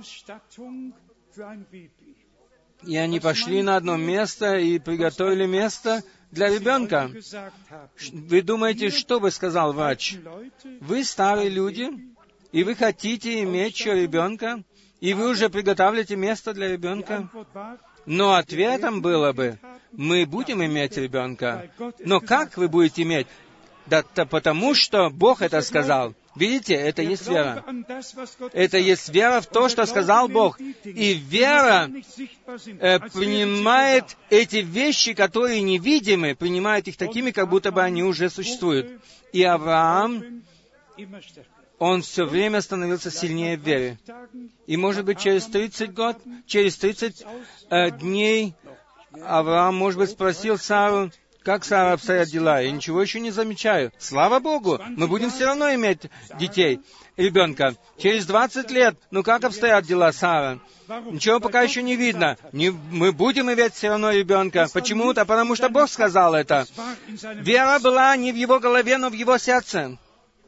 и они пошли на одно место и приготовили место для ребенка. Вы думаете, что бы сказал врач? Вы старые люди, и вы хотите иметь еще ребенка, и вы уже приготавливаете место для ребенка? Но ответом было бы: мы будем иметь ребенка. Но как вы будете иметь? Да, да потому что Бог это сказал. Видите, это есть вера. Это есть вера в то, что сказал Бог. И вера э, принимает эти вещи, которые невидимы, принимает их такими, как будто бы они уже существуют. И Авраам, он все время становился сильнее в вере. И, может быть, через тридцать год, через тридцать э, дней Авраам, может быть, спросил Сару: как, Сара, обстоят дела? Я ничего еще не замечаю. Слава Богу, мы будем все равно иметь детей, ребенка. Через двадцать лет, ну как обстоят дела, Сара? Ничего пока еще не видно. Не, мы будем иметь все равно ребенка. Почему-то, потому что Бог сказал это. Вера была не в его голове, но в его сердце.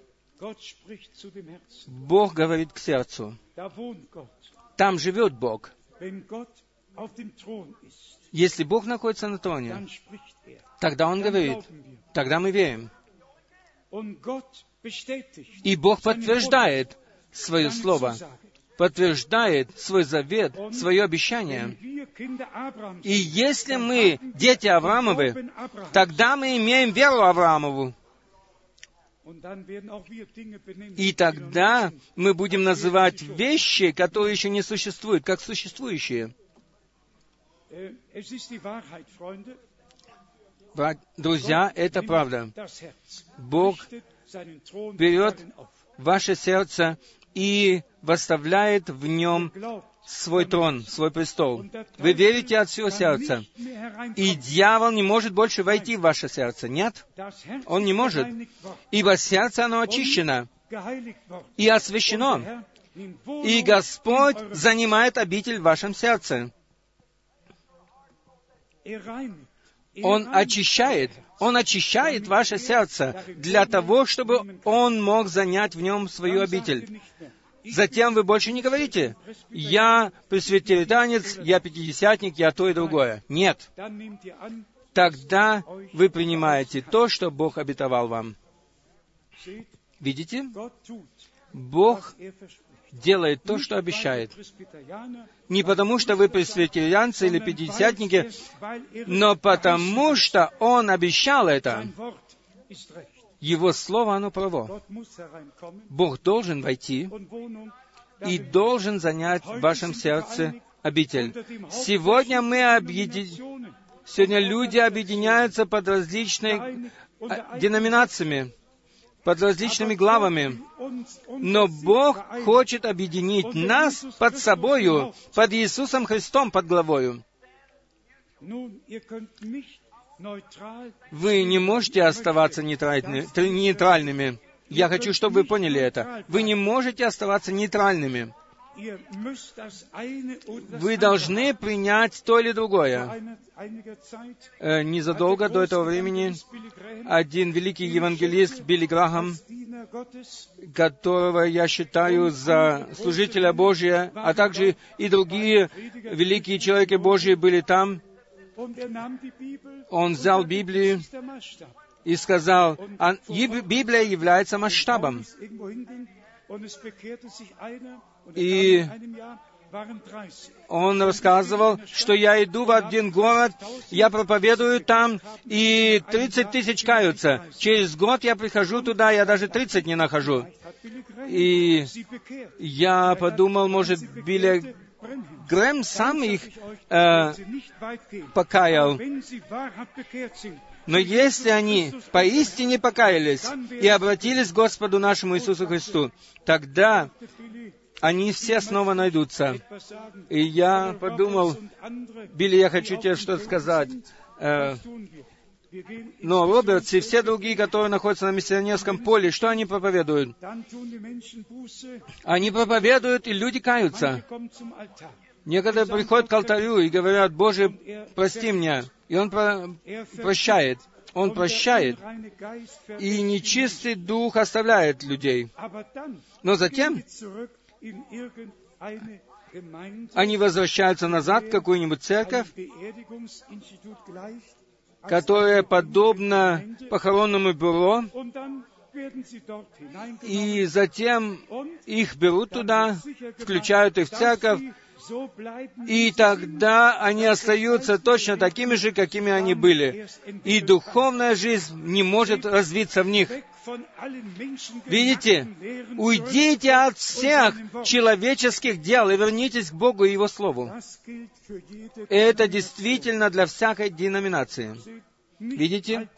Бог говорит к сердцу. Там живет Бог. Если Бог находится на троне, тогда Он говорит, тогда мы верим. И Бог подтверждает свое слово, подтверждает свой завет, свое обещание. И если мы дети Авраамовы, тогда мы имеем веру Авраамову. И тогда мы будем называть вещи, которые еще не существуют, как существующие. Друзья, это правда. Бог берет ваше сердце и восставляет в нем свой трон, свой престол. Вы верите от всего сердца. И дьявол не может больше войти в ваше сердце. Нет? Он не может. Ибо сердце, оно очищено и освящено. И Господь занимает обитель в вашем сердце. Он очищает. Он очищает ваше сердце для того, чтобы Он мог занять в нем свою обитель. Затем вы больше не говорите, «Я пресвитерианец, я пятидесятник, я то и другое». Нет. Тогда вы принимаете то, что Бог обетовал вам. Видите? Бог делает то, что обещает. Не потому, что вы пресвитерианцы или пятидесятники, но потому, что Он обещал это. Его Слово, оно право. Бог должен войти и должен занять в вашем сердце обитель. Сегодня мы объединяемся, сегодня люди объединяются под различными деноминациями, под различными главами. Но Бог хочет объединить нас под собою, под Иисусом Христом, под главою. Вы не можете оставаться нейтральными. Я хочу, чтобы вы поняли это. Вы не можете оставаться нейтральными. Вы должны принять то или другое. Э, незадолго до этого времени один великий евангелист Билли Грахам, которого я считаю за служителя Божия, а также и другие великие человеки Божьи были там, он взял Библию и сказал, а Библия является масштабом. И он рассказывал, что я иду в один город, я проповедую там, и тридцать тысяч каются. Через год я прихожу туда, я даже тридцать не нахожу. И я подумал, может, Билли Грэм сам их э, покаял. Но если они поистине покаялись и обратились к Господу нашему Иисусу Христу, тогда они все снова найдутся. И я подумал, Билли, я хочу тебе что-то сказать. Э, но Робертс и все другие, которые находятся на миссионерском поле, что они проповедуют? Они проповедуют, и люди каются. Некоторые приходят к алтарю и говорят, «Боже, прости меня». И Он про- прощает. Он прощает. И нечистый дух оставляет людей. Но затем они возвращаются назад в какую-нибудь церковь, которая подобна похоронному бюро, и затем их берут туда, включают их в церковь, и тогда они остаются точно такими же, какими они были. И духовная жизнь не может развиться в них. Видите? Уйдите от всех человеческих дел и вернитесь к Богу и Его Слову. Это действительно для всякой деноминации. Видите?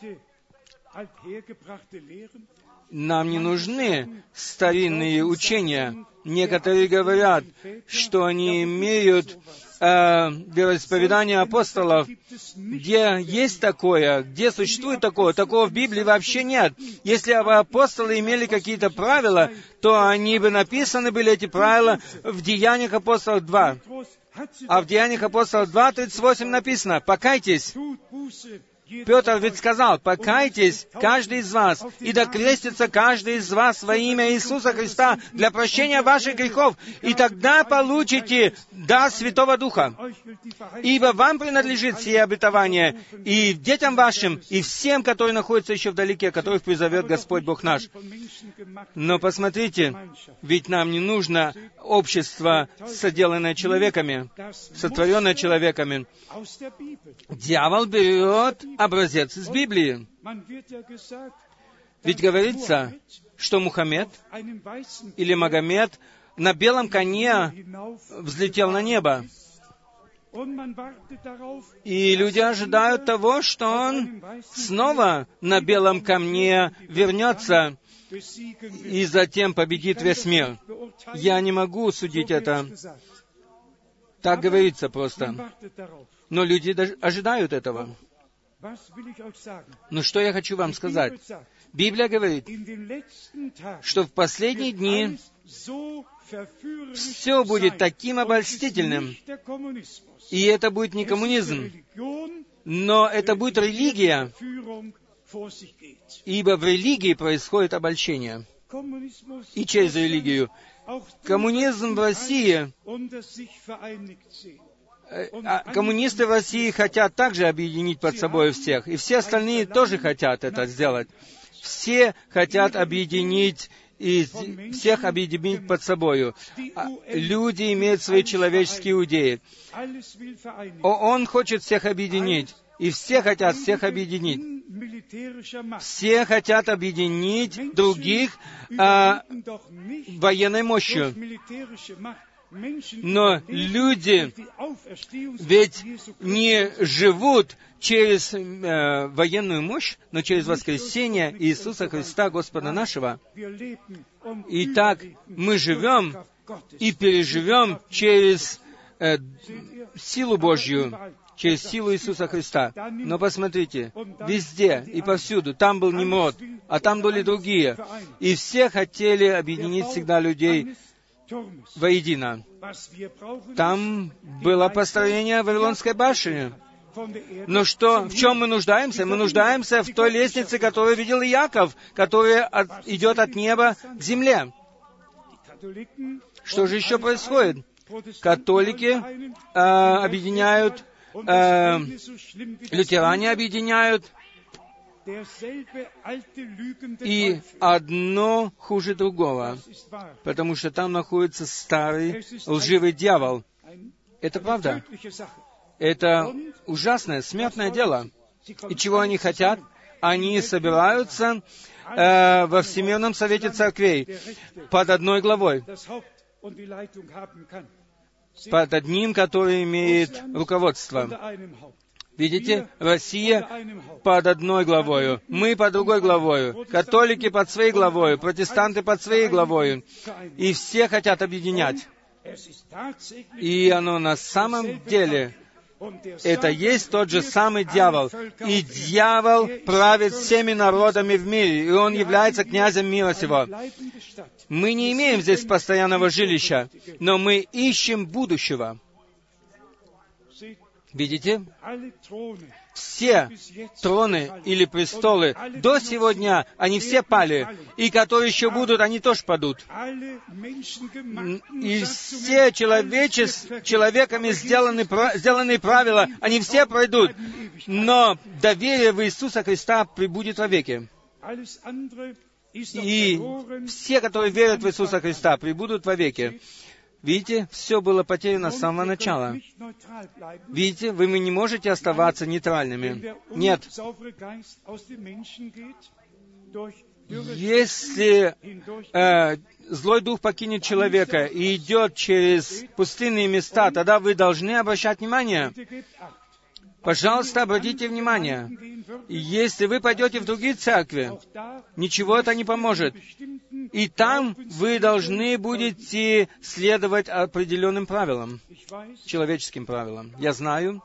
Нам не нужны старинные учения. Некоторые говорят, что они имеют э, вероисповедание апостолов. Где есть такое? Где существует такое? Такого в Библии вообще нет. Если бы апостолы имели какие-то правила, то они бы написаны были, эти правила, в Деяниях апостолов два. А в Деяниях апостолов два, тридцать восемь написано, «Покайтесь Петр ведь сказал: «Покайтесь, каждый из вас, и да крестится каждый из вас во имя Иисуса Христа для прощения ваших грехов, и тогда получите дар Святого Духа. Ибо вам принадлежит сие обетование, и детям вашим, и всем, которые находятся еще вдалеке, которых призовет Господь Бог наш». Но посмотрите, ведь нам не нужно общество, соделанное человеками, сотворенное человеками. Дьявол берет образец из Библии. Ведь говорится, что Мухаммед или Магомед на белом коне взлетел на небо. И люди ожидают того, что он снова на белом камне вернется и затем победит весь мир. Я не могу судить это. Так говорится просто. Но люди ожидают этого. Но что я хочу вам сказать? Библия говорит, что в последние дни все будет таким обольстительным. И это будет не коммунизм, но это будет религия, ибо в религии происходит обольщение. И через религию. Коммунизм в России, коммунисты в России хотят также объединить под собой всех, и все остальные тоже хотят это сделать. Все хотят объединить и всех объединить под собою. Люди имеют свои человеческие идеи. Он хочет всех объединить, и все хотят всех объединить. Все хотят объединить других а, военной мощью. Но люди ведь не живут через э, военную мощь, но через воскресение Иисуса Христа, Господа нашего. Итак, мы живем и переживем через э, силу Божью, через силу Иисуса Христа. Но посмотрите, везде и повсюду, там был Нимрод, а там были другие. И все хотели объединить всегда людей воедино. Там было построение Вавилонской башни. Но что, в чем мы нуждаемся? Мы нуждаемся в той лестнице, которую видел Иаков, которая от, идет от неба к земле. Что же еще происходит? Католики э, объединяют, э, лютеране объединяют, и одно хуже другого, потому что там находится старый лживый дьявол. Это правда. Это ужасное, смертное дело. И чего они хотят? Они собираются э, во Всемирном Совете Церквей под одной главой, под одним, который имеет руководство. Видите, Россия под одной главою, мы под другой главою, католики под своей главою, протестанты под своей главою, и все хотят объединять. И оно на самом деле, это есть тот же самый дьявол. И дьявол правит всеми народами в мире, и он является князем мира сего. Мы не имеем здесь постоянного жилища, но мы ищем будущего. Видите? Все троны или престолы до сегодня, они все пали. И которые еще будут, они тоже падут. И все человечес, человеками сделанные, сделанные правила, они все пройдут. Но доверие в Иисуса Христа пребудет вовеки. И все, которые верят в Иисуса Христа, пребудут вовеки. Видите, все было потеряно с самого начала. Видите, вы не можете оставаться нейтральными. Нет. Если э, злой дух покинет человека и идет через пустынные места, тогда вы должны обращать внимание. Пожалуйста, обратите внимание. Если вы пойдете в другие церкви, ничего это не поможет. И там вы должны будете следовать определенным правилам, человеческим правилам. Я знаю.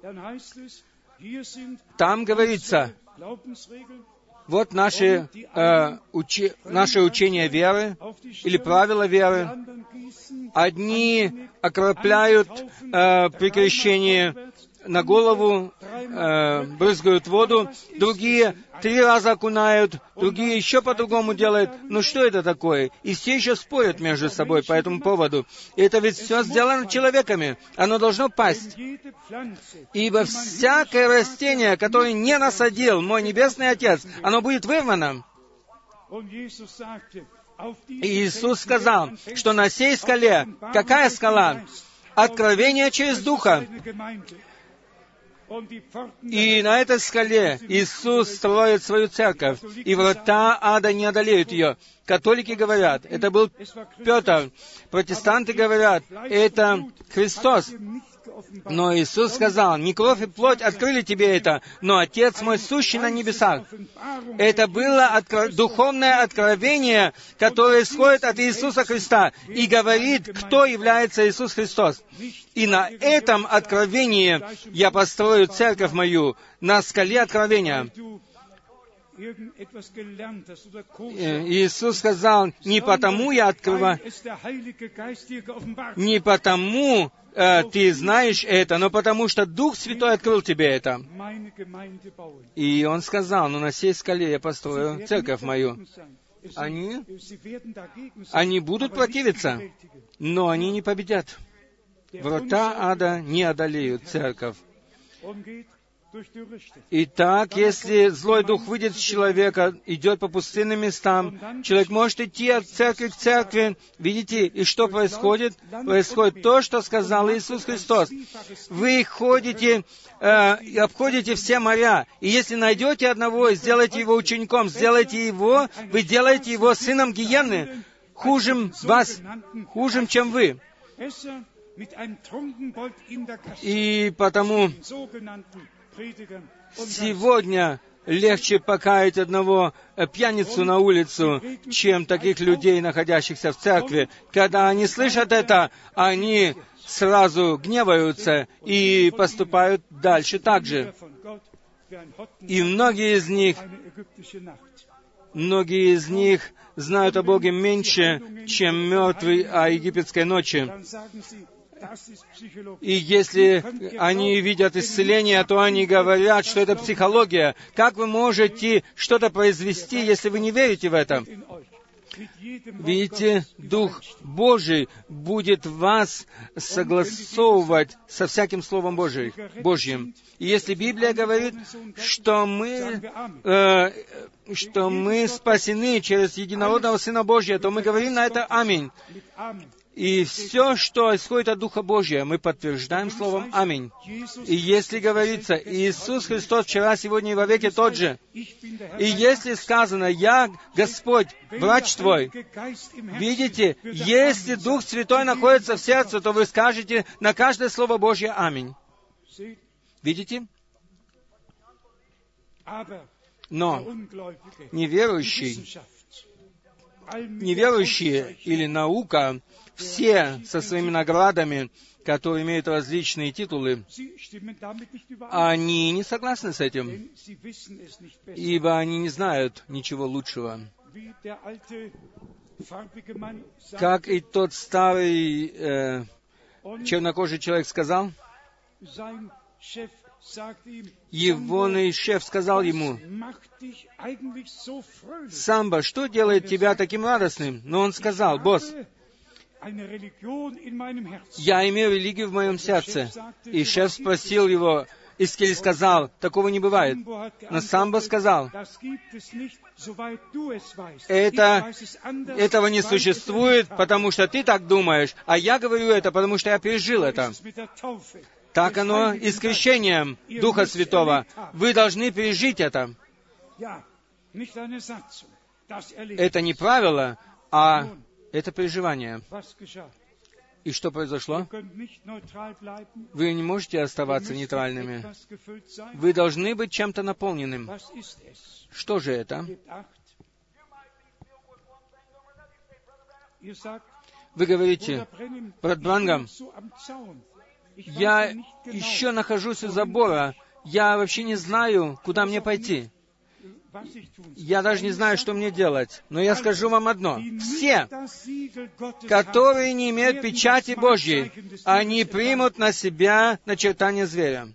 Там говорится, вот наши, э, учи, наше учение веры или правила веры. Одни окропляют э, при крещении на голову э, брызгают воду, другие три раза окунают, другие еще по-другому делают. Ну что это такое? И все еще спорят между собой по этому поводу. И это ведь все сделано человеками. Оно должно пасть. Ибо всякое растение, которое не насадил мой Небесный Отец, оно будет вырвано. И Иисус сказал, что на сей скале, какая скала? Откровение через Духа. И на этой скале Иисус строит свою церковь, и врата ада не одолеют ее. Католики говорят, это был Петр. Протестанты говорят, это Христос. Но Иисус сказал, не кровь и плоть открыли тебе это, но Отец мой, сущий на небесах. Это было откро... духовное откровение, которое исходит от Иисуса Христа и говорит, кто является Иисус Христос. И на этом откровении я построю церковь мою, на скале откровения. Иисус сказал, не потому я открываю, не потому э, ты знаешь это, но потому что Дух Святой открыл тебе это. И Он сказал, ну на сей скале я построю церковь мою. Они, они будут противиться, но они не победят. Врата ада не одолеют церковь. Итак, если злой дух выйдет с человека, идет по пустынным местам, человек может идти от церкви к церкви. Видите, и что происходит? Происходит то, что сказал Иисус Христос. Вы ходите э, и обходите все моря, и если найдете одного, сделайте его учеником, сделайте его, вы делаете его сыном гиенны, хужим вас, хужим, чем вы. И потому сегодня легче покаять одного пьяницу на улицу, чем таких людей, находящихся в церкви. Когда они слышат это, они сразу гневаются и поступают дальше так же. И многие из них, многие из них знают о Боге меньше, чем мертвый о египетской ночи. И если они видят исцеление, то они говорят, что это психология. Как вы можете что-то произвести, если вы не верите в это? Видите, Дух Божий будет вас согласовывать со всяким Словом Божий, Божьим. И если Библия говорит, что мы, э, что мы спасены через единородного Сына Божия, то мы говорим на это «Аминь». И все, что исходит от Духа Божия, мы подтверждаем словом «Аминь». И если говорится, Иисус Христос вчера, сегодня и вовеки тот же, и если сказано «Я, Господь, врач твой», видите, если Дух Святой находится в сердце, то вы скажете на каждое Слово Божье «Аминь». Видите? Но неверующий, неверующие или наука, все со своими наградами, которые имеют различные титулы, они не согласны с этим, ибо они не знают ничего лучшего. Как и тот старый э, чернокожий человек сказал, его шеф сказал ему: «Самбо, что делает тебя таким радостным?» Но он сказал: «Босс, я имею религию в моем сердце». И шеф спросил его, и Скелли сказал: «Такого не бывает». Но Самбо сказал: «Это, этого не существует, потому что ты так думаешь, а я говорю это, потому что я пережил это». Так оно и с крещением Духа Святого. Вы должны пережить это. Это не правило, а это переживание. И что произошло? Вы не можете оставаться нейтральными. Вы должны быть чем-то наполненным. Что же это? Вы говорите: «Брат Бранхам, я еще нахожусь у забора, я вообще не знаю, куда мне пойти». Я даже не знаю, что мне делать, но я скажу вам одно. Все, которые не имеют печати Божьей, они примут на себя начертание зверя.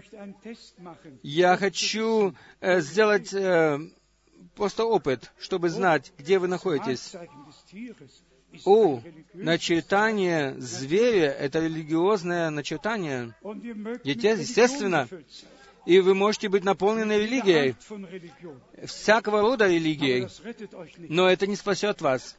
Я хочу э, сделать э, просто опыт, чтобы знать, где вы находитесь. О, начертание зверя — это религиозное начертание. Естественно. И вы можете быть наполнены религией, всякого рода религией, но это не спасет вас.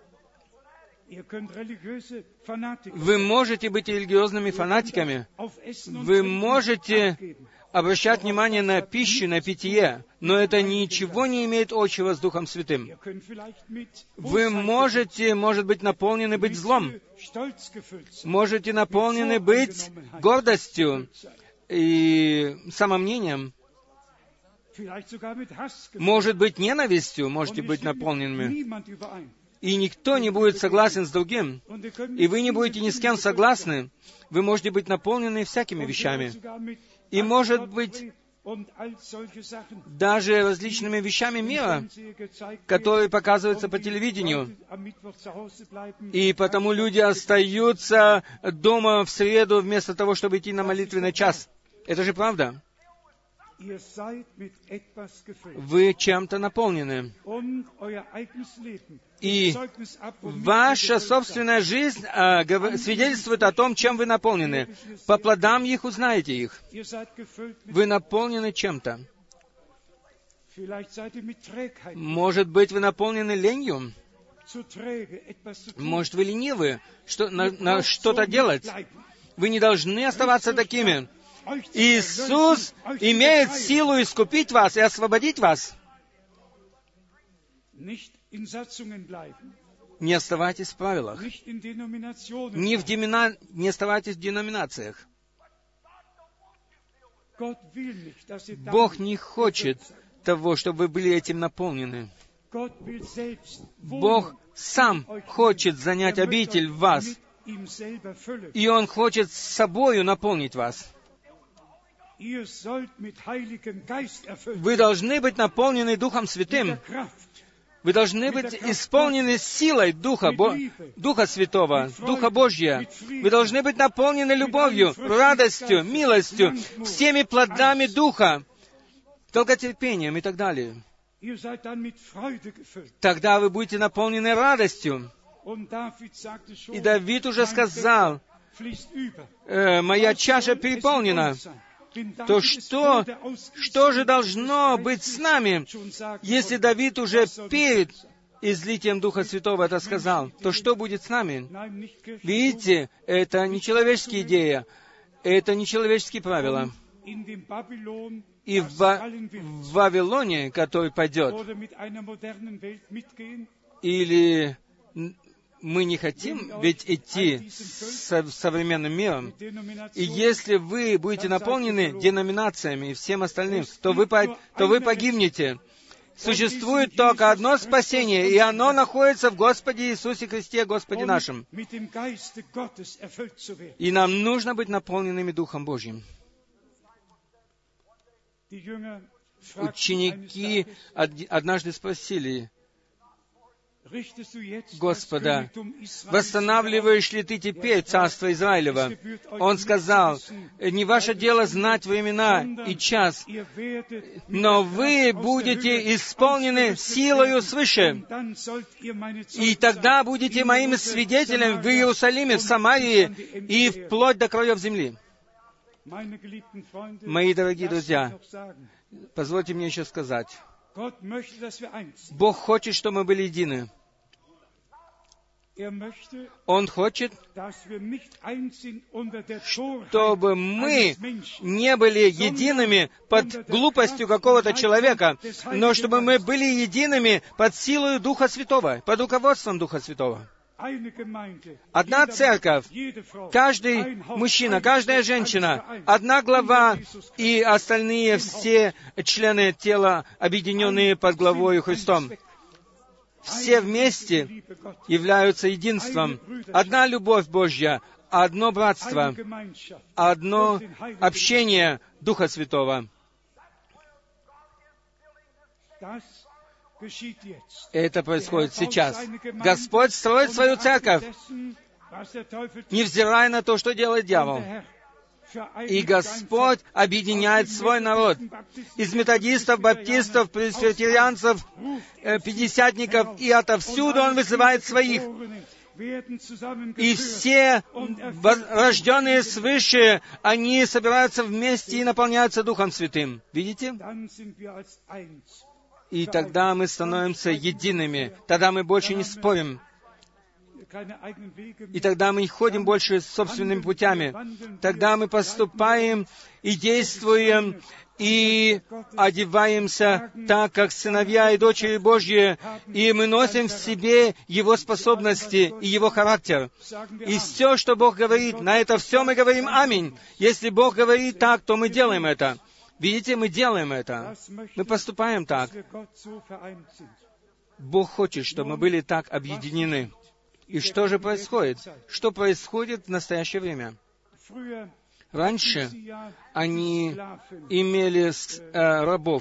Вы можете быть религиозными фанатиками, вы можете обращать внимание на пищу, на питье, но это ничего не имеет общего с Духом Святым. Вы можете, может быть, наполнены быть злом, можете наполнены быть гордостью и самомнением, может быть, ненавистью, можете быть наполненными. И никто не будет согласен с другим, и вы не будете ни с кем согласны. Вы можете быть наполнены всякими вещами. И, может быть, даже различными вещами мира, которые показываются по телевидению. И потому люди остаются дома в среду вместо того, чтобы идти на молитвенный час. Это же правда. Вы чем-то наполнены. И ваша собственная жизнь а, гов... свидетельствует о том, чем вы наполнены. По плодам их узнаете их. Вы наполнены чем-то. Может быть, вы наполнены ленью. Может, вы ленивы что, на, на что-то делать. Вы не должны оставаться такими. Иисус имеет силу искупить вас и освободить вас. Не оставайтесь в правилах. Не, в демина... не оставайтесь в деноминациях. Бог не хочет того, чтобы вы были этим наполнены. Бог сам хочет занять обитель в вас. И Он хочет с собою наполнить вас. Вы должны быть наполнены Духом Святым. Вы должны быть исполнены силой Духа, Бо... Духа Святого, Духа Божьего. Вы должны быть наполнены любовью, радостью, милостью, всеми плодами Духа, долготерпением и так далее. Тогда вы будете наполнены радостью. И Давид уже сказал, э, «Моя чаша переполнена». То что, что же должно быть с нами, если Давид уже перед излитием Духа Святого это сказал? То что будет с нами? Видите, это не человеческая идея, это не человеческие правила. И в, Ва- в Вавилоне, который пойдет, или мы не хотим ведь идти с современным миром. И если вы будете наполнены деноминациями и всем остальным, то вы, по, то вы погибнете. Существует только одно спасение, и оно находится в Господе Иисусе Христе, Господе нашем. И нам нужно быть наполненными Духом Божьим. Ученики однажды спросили Господа, восстанавливаешь ли Ты теперь царство Израилева? Он сказал, не ваше дело знать времена и час, но вы будете исполнены силою свыше, и тогда будете моим свидетелем в Иерусалиме, в Самарии и вплоть до краев земли. Мои дорогие друзья, позвольте мне еще сказать, Бог хочет, чтобы мы были едины. Он хочет, чтобы мы не были едиными под глупостью какого-то человека, но чтобы мы были едиными под силой Духа Святого, под руководством Духа Святого. Одна церковь, каждый мужчина, каждая женщина, одна глава и остальные все члены тела, объединенные под главою Христом. Все вместе являются единством. Одна любовь Божья, одно братство, одно общение Духа Святого. Это происходит сейчас. Господь строит свою церковь, невзирая на то, что делает дьявол. И Господь объединяет свой народ. Из методистов, баптистов, пресвитерианцев, пятидесятников, и отовсюду Он вызывает своих. И все рожденные свыше, они собираются вместе и наполняются Духом Святым. Видите? И тогда мы становимся едиными. Тогда мы больше не спорим. И тогда мы не ходим больше собственными путями. Тогда мы поступаем и действуем, и одеваемся так, как сыновья и дочери Божьи, и мы носим в себе Его способности и Его характер. И все, что Бог говорит, на это все мы говорим «Аминь». Если Бог говорит так, то мы делаем это. Видите, мы делаем это. Мы поступаем так. Бог хочет, чтобы мы были так объединены. И что же происходит? Что происходит в настоящее время? Раньше они имели э, рабов.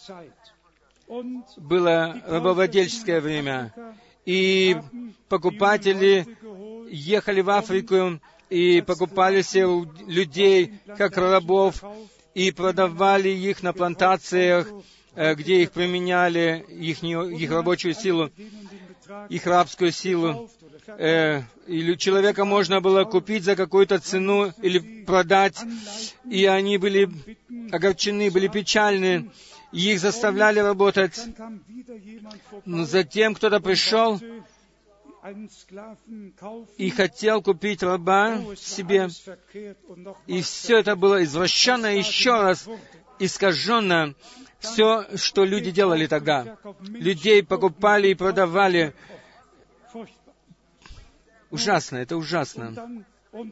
Было рабовладельческое время. И покупатели ехали в Африку и покупали себе людей как рабов и продавали их на плантациях, э, где их применяли, их, их рабочую силу, их рабскую силу. Э, или человека можно было купить за какую-то цену или продать, и они были огорчены, были печальны, и их заставляли работать. Но затем кто-то пришел и хотел купить раба себе, и все это было извращенно, еще раз искаженно. Все, что люди делали тогда. Людей покупали и продавали. Ужасно, это ужасно.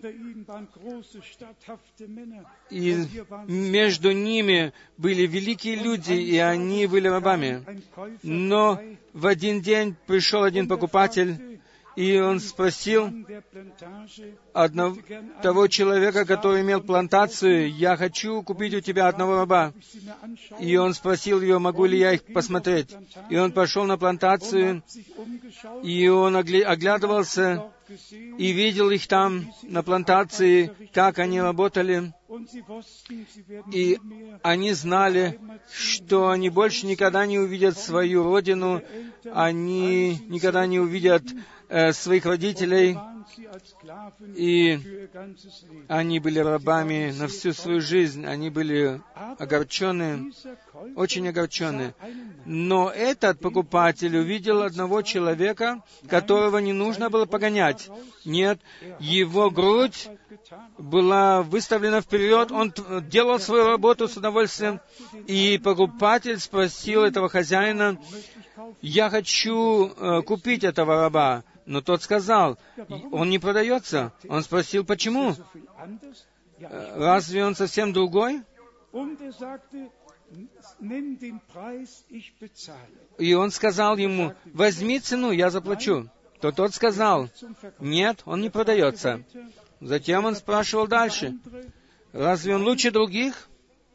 И между ними были великие люди, и они были рабами. Но в один день пришел один покупатель, и он спросил одного, того человека, который имел плантацию: «Я хочу купить у тебя одного раба». И он спросил его, могу ли я их посмотреть. И он пошел на плантацию, и он оглядывался, и видел их там, на плантации, как они работали. И они знали, что они больше никогда не увидят свою родину, они никогда не увидят э, своих родителей, и они были рабами на всю свою жизнь, они были огорчены, очень огорчены. Но этот покупатель увидел одного человека, которого не нужно было погонять. Нет, его грудь была выставлена вперед, он делал свою работу с удовольствием, и покупатель спросил этого хозяина: «Я хочу э, купить этого раба». Но тот сказал: «Он не продается». Он спросил: «Почему? Разве он совсем другой?» И он сказал ему: «Возьми цену, я заплачу». То тот сказал: «Нет, он не продается». Затем он спрашивал дальше: «Разве он лучше других?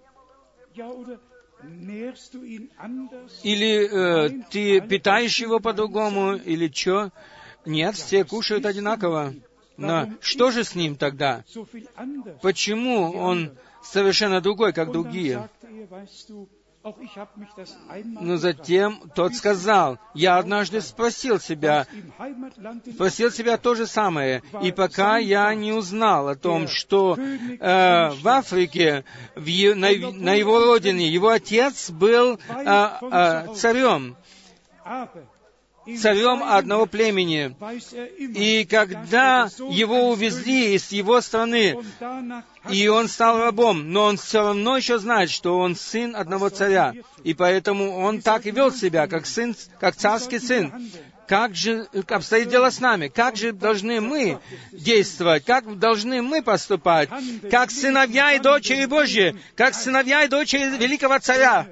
Или э, ты питаешь его по-другому, или что?» Нет, все кушают одинаково. Но что же с ним тогда? Почему он совершенно другой, как другие? Но затем тот сказал: «Я однажды спросил себя, спросил себя то же самое, и пока я не узнал о том, что э, в Африке, в е, на, на его родине, его отец был э, э, царем, царем одного племени. И когда его увезли из его страны, и он стал рабом, но он все равно еще знает, что он сын одного царя. И поэтому он так и вел себя, как сын, как царский сын. Как же обстоит дело с нами? Как же должны мы действовать? Как должны мы поступать? Как сыновья и дочери Божьи, как сыновья и дочери великого царя,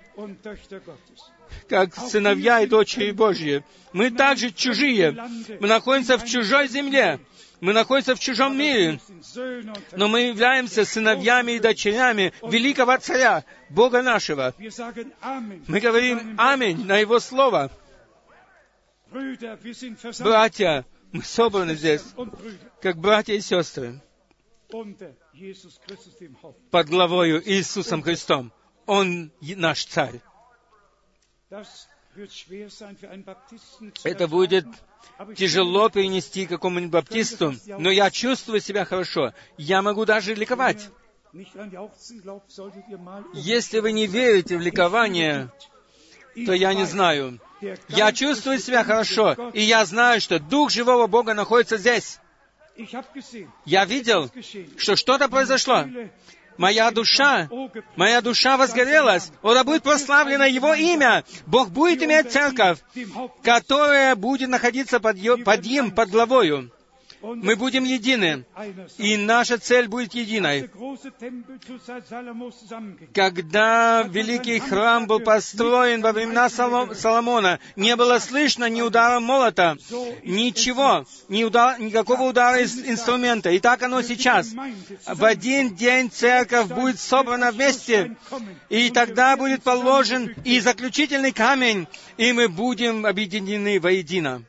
как сыновья и дочери Божьи. Мы также чужие. Мы находимся в чужой земле. Мы находимся в чужом мире, но мы являемся сыновьями и дочерями великого Царя, Бога нашего. Мы говорим «Аминь» на Его Слово. Братья, мы собраны здесь, как братья и сестры, под главою Иисусом Христом. Он наш Царь. Это будет тяжело перенести какому-нибудь баптисту, но я чувствую себя хорошо. Я могу даже ликовать. Если вы не верите в ликование, то я не знаю. Я чувствую себя хорошо, и я знаю, что Дух живого Бога находится здесь. Я видел, что что-то произошло. Моя душа, моя душа возгорелась. О, да будет прославлено Его имя. Бог будет иметь церковь, которая будет находиться под, ее, под Им, под главою. Мы будем едины, и наша цель будет единой. Когда великий храм был построен во времена Соломона, не было слышно ни удара молота, ничего, ни удар, никакого удара из инструмента. И так оно сейчас. В один день церковь будет собрана вместе, и тогда будет положен и заключительный камень, и мы будем объединены воедино.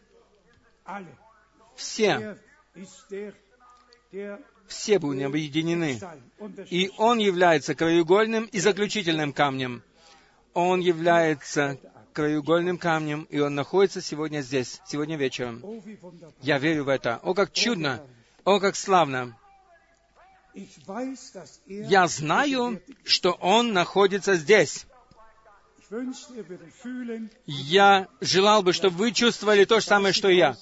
Все. Все будут объединены. И Он является краеугольным и заключительным камнем. Он является краеугольным камнем, и Он находится сегодня здесь, сегодня вечером. Я верю в это. О, как чудно! О, как славно! Я знаю, что Он находится здесь. Я желал бы, чтобы вы чувствовали то же самое, что и я.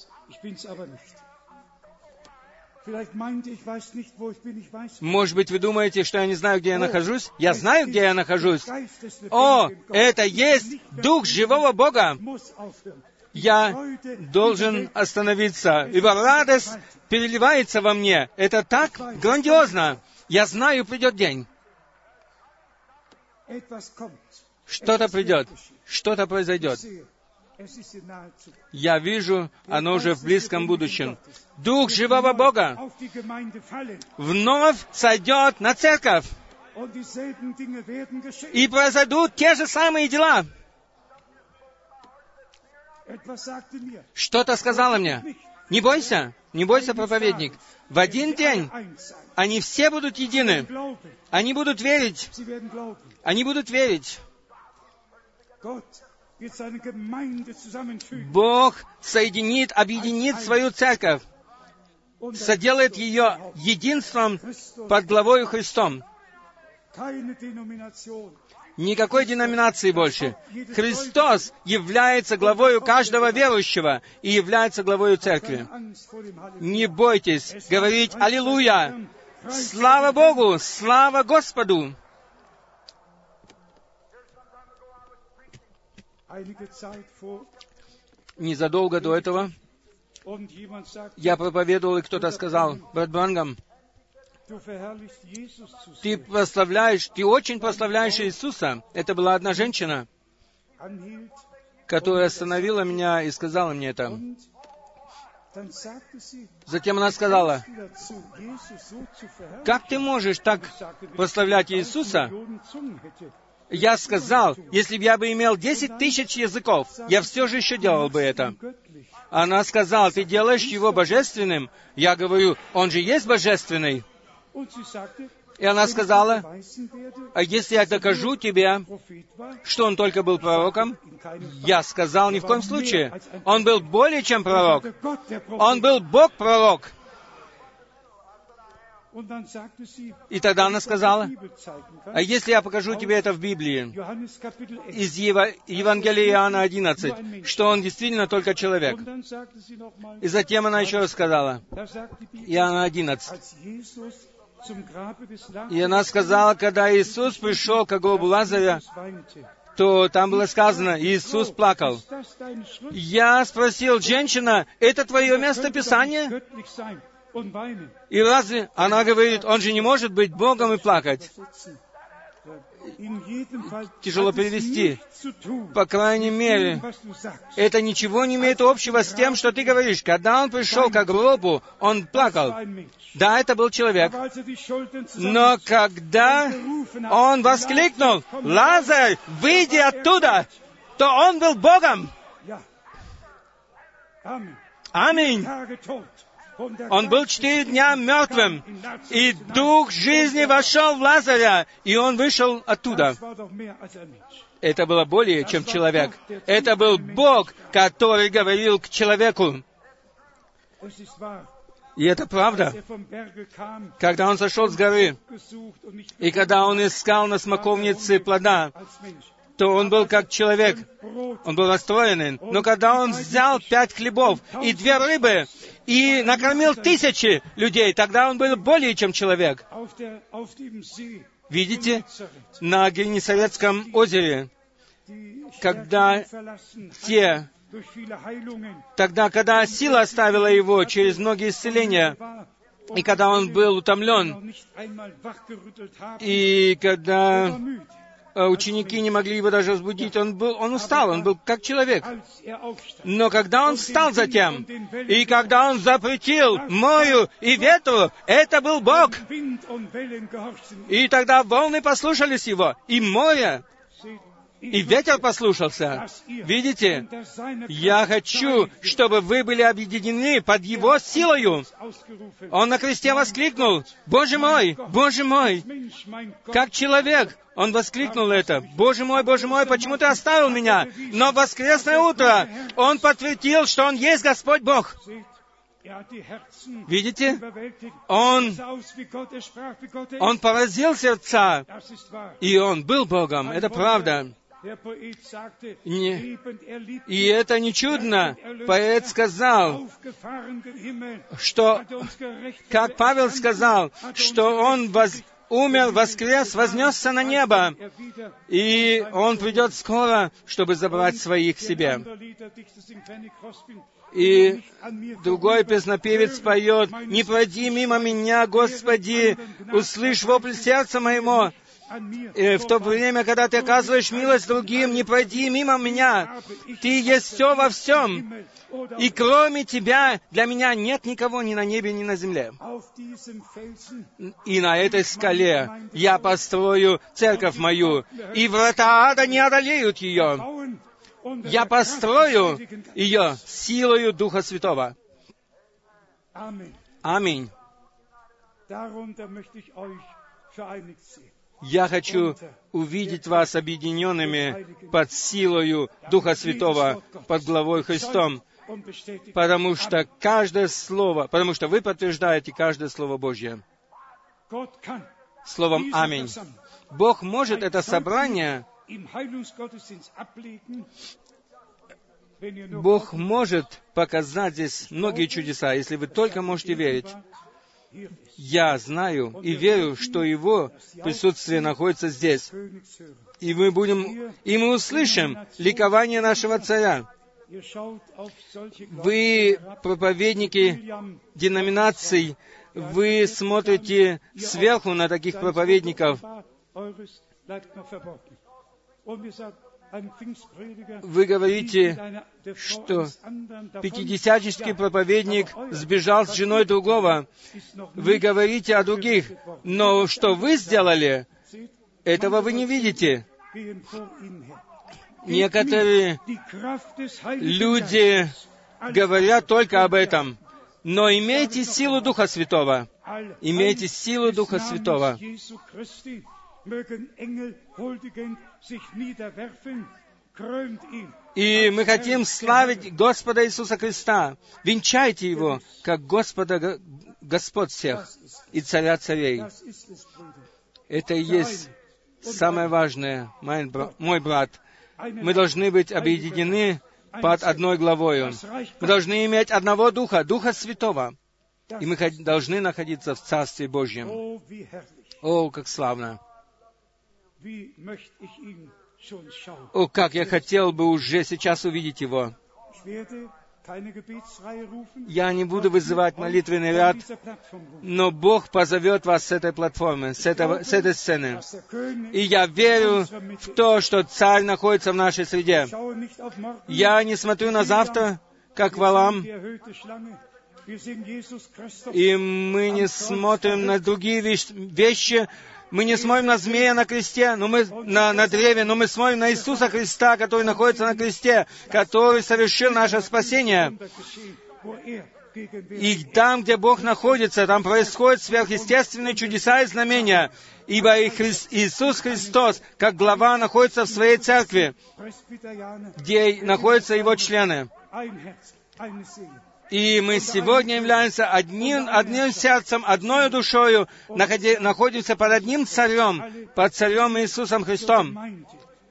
Может быть, вы думаете, что я не знаю, где я нахожусь? Я знаю, где я нахожусь. О, это есть Дух живого Бога. Я должен остановиться, ибо радость переливается во мне. Это так грандиозно. Я знаю, придет день. Что-то придет, что-то произойдет. Я вижу, оно уже в близком будущем. Дух живого Бога вновь сойдет на церковь, и произойдут те же самые дела. Что-то сказала мне. Не бойся, не бойся, проповедник. В один день они все будут едины. Они будут верить. Они будут верить. Бог соединит, объединит свою церковь, соделает ее единством под главою Христом. Никакой деноминации больше. Христос является главою каждого верующего и является главою церкви. Не бойтесь говорить «Аллилуйя!» Слава Богу! Слава Господу! Незадолго до этого я проповедовал, и кто-то сказал: «Брат Бранхам, ты прославляешь, ты очень прославляешь Иисуса». Это была одна женщина, которая остановила меня и сказала мне это. Затем она сказала: «Как ты можешь так прославлять Иисуса?» Я сказал, если бы я бы имел десять тысяч языков, я все же еще делал бы это. Она сказала: «Ты делаешь Его божественным». Я говорю: «Он же есть божественный». И она сказала: «А если я докажу тебе, что он только был пророком?» Я сказал: «Ни в коем случае. Он был более чем пророк. Он был Бог-пророк». И тогда она сказала: «А если я покажу тебе это в Библии, из Ев... Евангелия Иоанна одиннадцать, что он действительно только человек?» И затем она еще раз сказала, Иоанна одиннадцать. И она сказала, когда Иисус пришел к гробу Лазаря, то там было сказано, Иисус плакал. Я спросил: «Женщина, это твое место Писания?» И разве она говорит: «Он же не может быть Богом и плакать». тяжело перевести. По крайней мере, это ничего не имеет общего с тем, что ты говоришь. Когда он пришел к гробу, он плакал. Да, это был человек. Но когда он воскликнул: «Лазарь, выйди оттуда!», то он был Богом. Аминь. Он был четыре дня мертвым, и дух жизни вошел в Лазаря, и он вышел оттуда. Это было более, чем человек. Это был Бог, который говорил к человеку. И это правда. Когда он сошел с горы, и когда он искал на смоковнице плода, то он был как человек. Он был расстроенный. Но когда он взял пять хлебов и две рыбы, и накормил тысячи людей, тогда он был более, чем человек. Видите, на Генесарецком озере, когда те, тогда, когда сила оставила его через многие исцеления, и когда он был утомлен, и когда ученики не могли его даже разбудить, он был, он устал, он был как человек. Но когда он встал затем, и когда он запретил морю и ветру, это был Бог. И тогда волны послушались его, и море, и ветер послушался. Видите? Я хочу, чтобы вы были объединены под Его силою. Он на кресте воскликнул: «Боже мой, Боже мой!» Как человек, он воскликнул это: «Боже мой, Боже мой, почему ты оставил меня?» Но в воскресное утро он подтвердил, что он есть Господь Бог. Видите? Он, он поразил сердца, и он был Богом. Это правда. Не. И это не чудно. Поэт сказал, что, как Павел сказал, что он воз, умер, воскрес, вознесся на небо, и он придет скоро, чтобы забрать своих к себе. И другой песнопевец поет: «Не пройди мимо меня, Господи, услышь вопль сердца моего». И в то время, когда ты оказываешь милость другим, не пройди мимо меня. Ты есть все во всем. И кроме Тебя для меня нет никого ни на небе, ни на земле. И на этой скале я построю церковь мою, и врата ада не одолеют ее. Я построю ее силою Духа Святого. Аминь. Я хочу увидеть вас объединенными под силою Духа Святого, под главой Христом, потому что каждое слово, потому что вы подтверждаете каждое Слово Божье. Словом «Аминь». Бог может это собрание, Бог может показать здесь многие чудеса, если вы только можете верить. Я знаю и верю, что Его присутствие находится здесь. И мы будем, и мы услышим ликование нашего Царя. Вы, проповедники деноминаций, вы смотрите сверху на таких проповедников. Вы говорите, что пятидесятнический проповедник сбежал с женой другого. Вы говорите о других, но что вы сделали, этого вы не видите. Некоторые люди говорят только об этом, но имейте силу Духа Святого. Имейте силу Духа Святого. И мы хотим славить Господа Иисуса Христа. Венчайте Его, как Господа, Господь всех и Царя царей. Это и есть самое важное, мой брат. Мы должны быть объединены под одной главою. Мы должны иметь одного Духа, Духа Святого. И мы должны находиться в Царстве Божьем. О, как славно! О, как я хотел бы уже сейчас увидеть Его. Я не буду вызывать молитвенный ряд, но Бог позовет вас с этой платформы, с, этого, с этой сцены. И я верю в то, что Царь находится в нашей среде. Я не смотрю на завтра, как Валаам, и мы не смотрим на другие вещи, мы не смотрим на змея на кресте, но мы, на, на древе, но мы смотрим на Иисуса Христа, который находится на кресте, который совершил наше спасение. И там, где Бог находится, там происходят сверхъестественные чудеса и знамения, ибо и Хри... Иисус Христос, как глава, находится в своей церкви, где находятся Его члены. И мы сегодня являемся одним, одним сердцем, одной душою, находи, находимся под одним царем, под царем Иисусом Христом.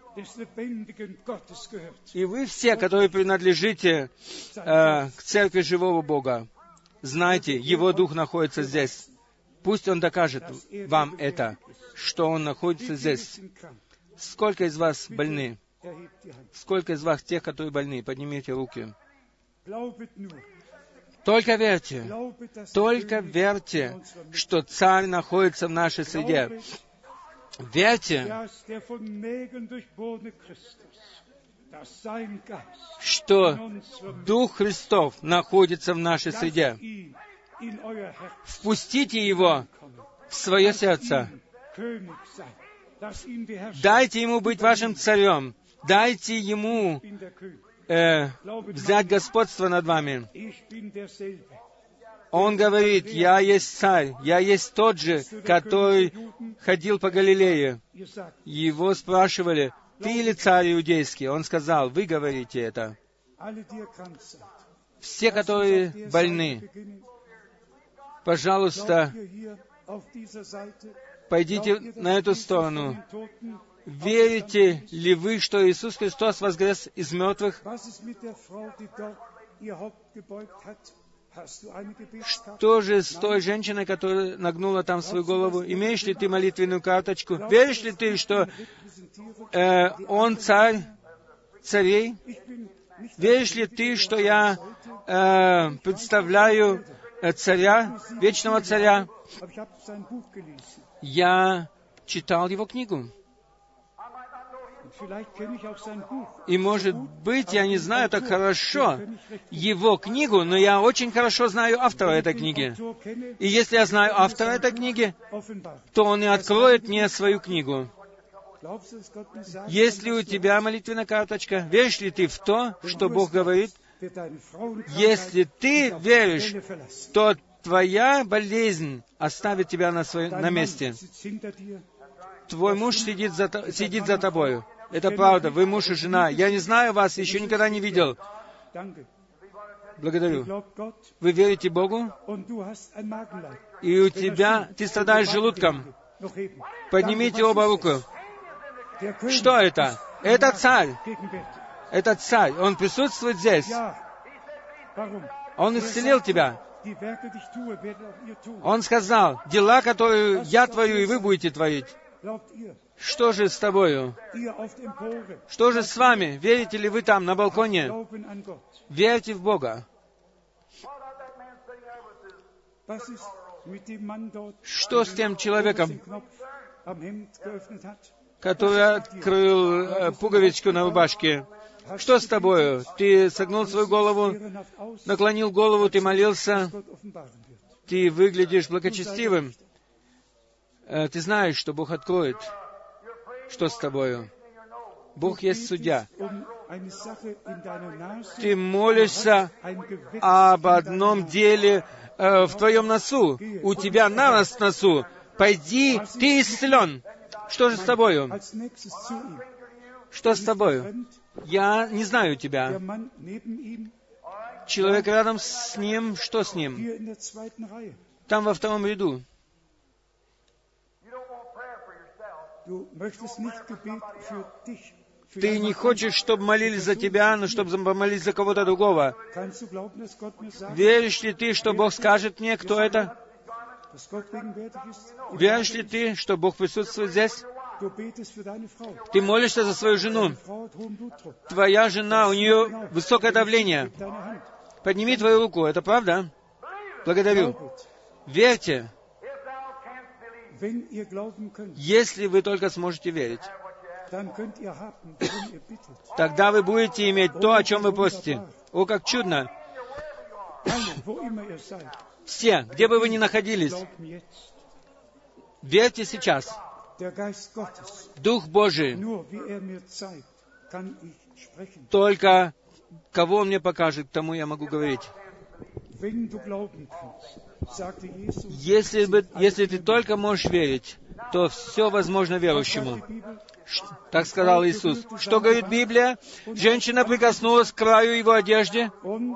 И вы все, которые принадлежите э, к церкви живого Бога, знайте, Его Дух находится здесь. Пусть Он докажет вам это, что Он находится здесь. Сколько из вас больны? Сколько из вас тех, которые больны? Поднимите руки. Только верьте, только верьте, что Царь находится в нашей среде. Верьте, что Дух Христов находится в нашей среде. Впустите Его в свое сердце. Дайте Ему быть вашим царем. Дайте Ему э, взять господство над вами. Он говорит, «Я есть царь, я есть тот же, который ходил по Галилее». Его спрашивали, «Ты ли царь иудейский?» Он сказал, «Вы говорите это». Все, которые больны, пожалуйста, пойдите на эту сторону. Верите ли вы, что Иисус Христос воскрес из мертвых? Что же с той женщиной, которая нагнула там свою голову? Имеешь ли ты молитвенную карточку? Веришь ли ты, что э, Он царь царей? Веришь ли ты, что я э, представляю э, царя, вечного царя? Я читал его книгу. И, может быть, я не знаю так хорошо его книгу, но я очень хорошо знаю автора этой книги. И если я знаю автора этой книги, то он и откроет мне свою книгу. Есть ли у тебя молитвенная карточка? Веришь ли ты в то, что Бог говорит? Если ты веришь, то твоя болезнь оставит тебя на, своем, на месте. Твой муж сидит за, сидит за тобою. Это правда, вы муж и жена. Я не знаю вас, еще никогда не видел. Благодарю. Вы верите Богу? И у тебя, ты страдаешь желудком. Поднимите оба руку. Что это? Это царь. Это царь. Он присутствует здесь. Он исцелил тебя. Он сказал, дела, которые я творю, и вы будете творить. Что же с тобою? Что же с вами? Верите ли вы там, на балконе? Верьте в Бога. Что с тем человеком, который открыл э, пуговичку на рубашке? Что с тобою? Ты согнул свою голову, наклонил голову, ты молился, ты выглядишь благочестивым. Э, ты знаешь, что Бог откроет. Что с тобою? Бог есть судья. Ты молишься об одном деле э, в твоем носу. У тебя навоз в носу. Пойди, ты исцелен. Что же с тобою? Что с тобою? Я не знаю тебя. Человек рядом с ним, что с ним? Там во втором ряду. Ты не хочешь, чтобы молились за тебя, но чтобы помолились за кого-то другого. Веришь ли ты, что Бог скажет мне, кто это? Веришь ли ты, что Бог присутствует здесь? Ты молишься за свою жену. Твоя жена, у нее высокое давление. Подними твою руку, это правда? Благодарю. Верьте. Если вы только сможете верить, тогда вы будете иметь то, о чем вы просите. О, как чудно! Все, где бы вы ни находились, верьте сейчас. Дух Божий, только кого Он мне покажет, тому я могу говорить. Если, бы, если ты только можешь верить, то все возможно верующему. Так сказал Иисус. Что говорит Библия? Женщина прикоснулась к краю Его одежды.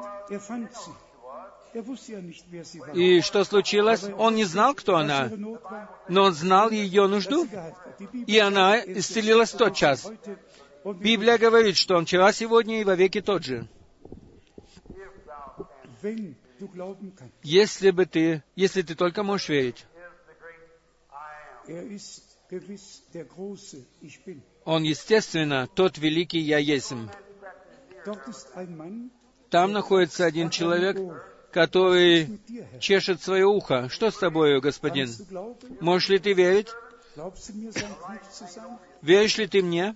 И что случилось? Он не знал, кто она, но он знал ее нужду, и она исцелилась тотчас. Библия говорит, что Он вчера, сегодня и вовеки тот же. Если бы ты, если ты только можешь верить. Он, естественно, тот великий Я Есмь. Там находится один человек, который чешет свое ухо. Что с тобою, господин? Можешь ли ты верить? Веришь ли ты мне?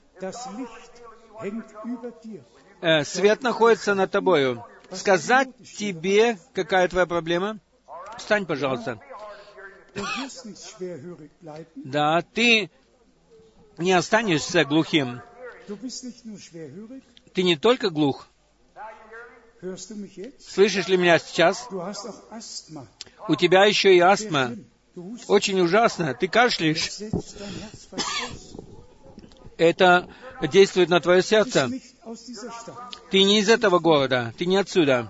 Э, свет находится над тобою. Сказать тебе, какая твоя проблема? Встань, пожалуйста. Да, ты не останешься глухим. Ты не только глух. Слышишь ли меня сейчас? У тебя еще и астма. Очень ужасно. Ты кашляешь. Это действует на твое сердце. Ты не из этого города. Ты не отсюда.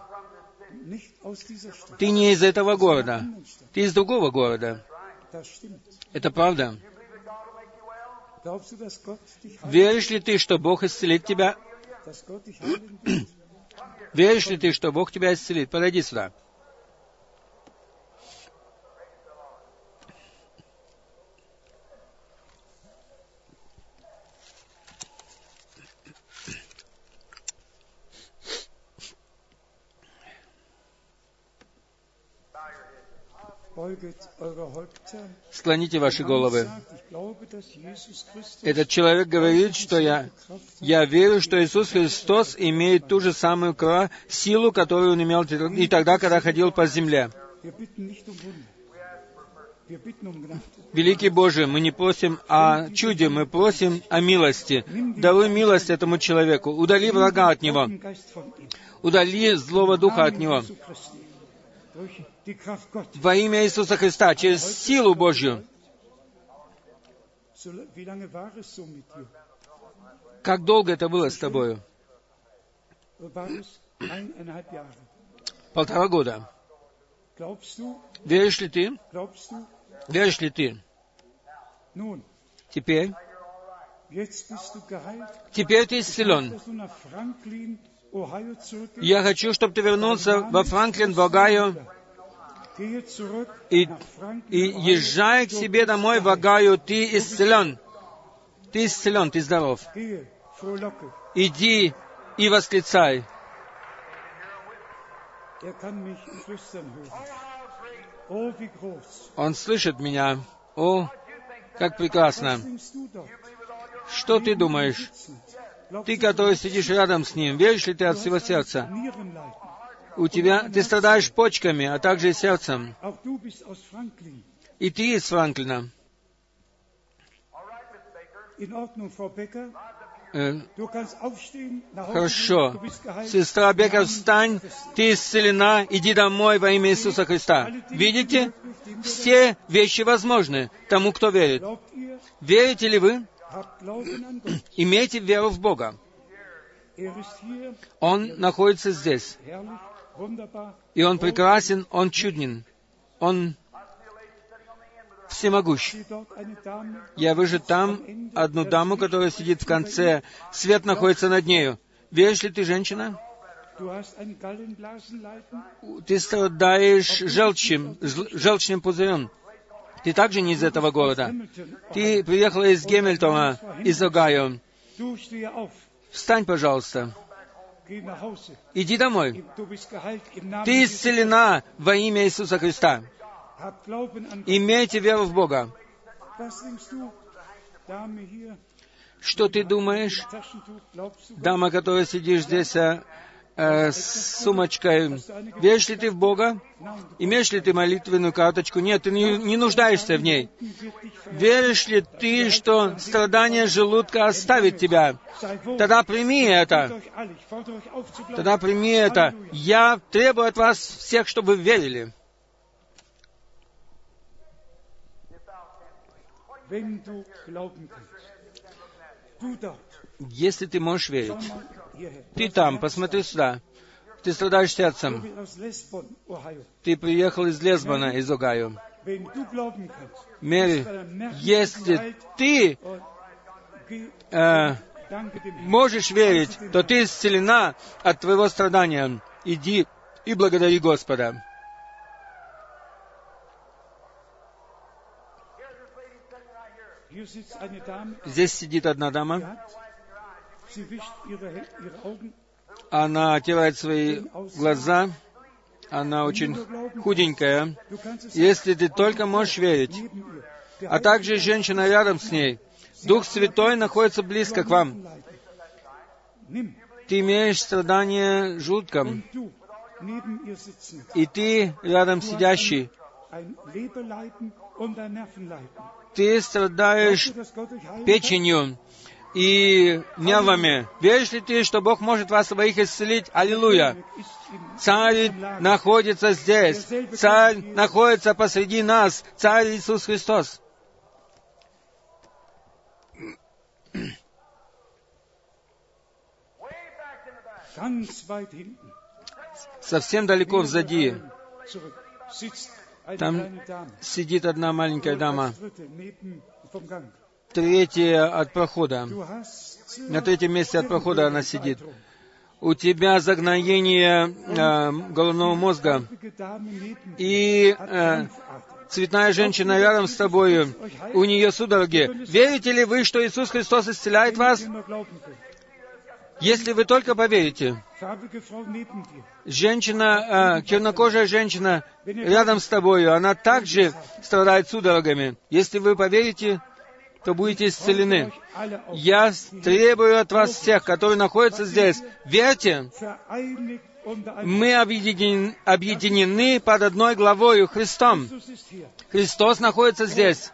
Ты не из этого города. Ты из другого города. Это правда. Веришь ли ты, что Бог исцелит тебя? Веришь ли ты, что Бог тебя исцелит? Подойди сюда. Склоните ваши головы. Этот человек говорит, что я, я верю, что Иисус Христос имеет ту же самую кра, силу, которую Он имел и тогда, когда ходил по земле. Великий Боже, мы не просим о чуде, мы просим о милости. Даруй милость этому человеку. Удали врага от него. Удали злого духа от него. Во имя Иисуса Христа, через силу Божью. Как долго это было с тобою? Полтора года. Веришь ли ты? Веришь ли ты? Теперь? Теперь ты исцелен. Я хочу, чтобы ты вернулся во Франклин, в Огайо, и, и езжай к себе домой в Огайо, ты исцелен. Ты исцелен, ты здоров. Иди и восклицай. Он слышит меня. О, как прекрасно. Что ты думаешь? Ты, который сидишь рядом с ним, веришь ли ты от всего сердца? У тебя, ты страдаешь почками, а также и сердцем. И ты из Франклина. Э, хорошо. Сестра Бекер, встань, ты исцелена, иди домой во имя Иисуса Христа. Видите? Все вещи возможны тому, кто верит. Верите ли вы? Имейте веру в Бога. Он находится здесь. И Он прекрасен, Он чуден, Он всемогущ. Я вижу там одну даму, которая сидит в конце. Свет находится над нею. Веришь ли ты, женщина? Ты страдаешь желчным, желчным пузырем. Ты также не из этого города. Ты приехала из Гемильтона, из Огайо. Встань, пожалуйста. Иди домой. Ты исцелена во имя Иисуса Христа. Имейте веру в Бога. Что ты думаешь, дама, которая сидишь здесь э, э, с сумочкой, веришь ли ты в Бога? Имеешь ли ты молитвенную карточку? Нет, ты не, не нуждаешься в ней. Веришь ли ты, что страдание желудка оставит тебя? Тогда прими это. Тогда прими это. Я требую от вас всех, чтобы вы верили. Если ты можешь верить, ты там, посмотри сюда. Ты страдаешь сердцем. Ты приехал из Лесбона, из Огайо. Мэри, если ты э, можешь верить, то ты исцелена от твоего страдания. Иди и благодари Господа. Здесь сидит одна дама. Она отирает свои глаза. Она очень худенькая. Если ты только можешь верить, а также женщина рядом с ней, Дух Святой находится близко к вам. Ты имеешь страдание желудком, и ты рядом сидящий. Ты страдаешь печенью и нервами. Веришь ли ты, что Бог может вас обоих исцелить? Аллилуйя! Царь находится здесь. Царь находится посреди нас. Царь Иисус Христос. Совсем далеко взади. Там сидит одна маленькая дама. Третья от прохода. На третьем месте от прохода она сидит. У тебя загноение э, головного мозга. И э, цветная женщина рядом с тобой. У нее судороги. Верите ли вы, что Иисус Христос исцеляет вас? Если вы только поверите. Женщина, э, чернокожая женщина рядом с тобой, она также страдает судорогами. Если вы поверите, то будете исцелены. Я требую от вас всех, которые находятся здесь, верьте, мы объединены, объединены под одной главою Христом. Христос находится здесь.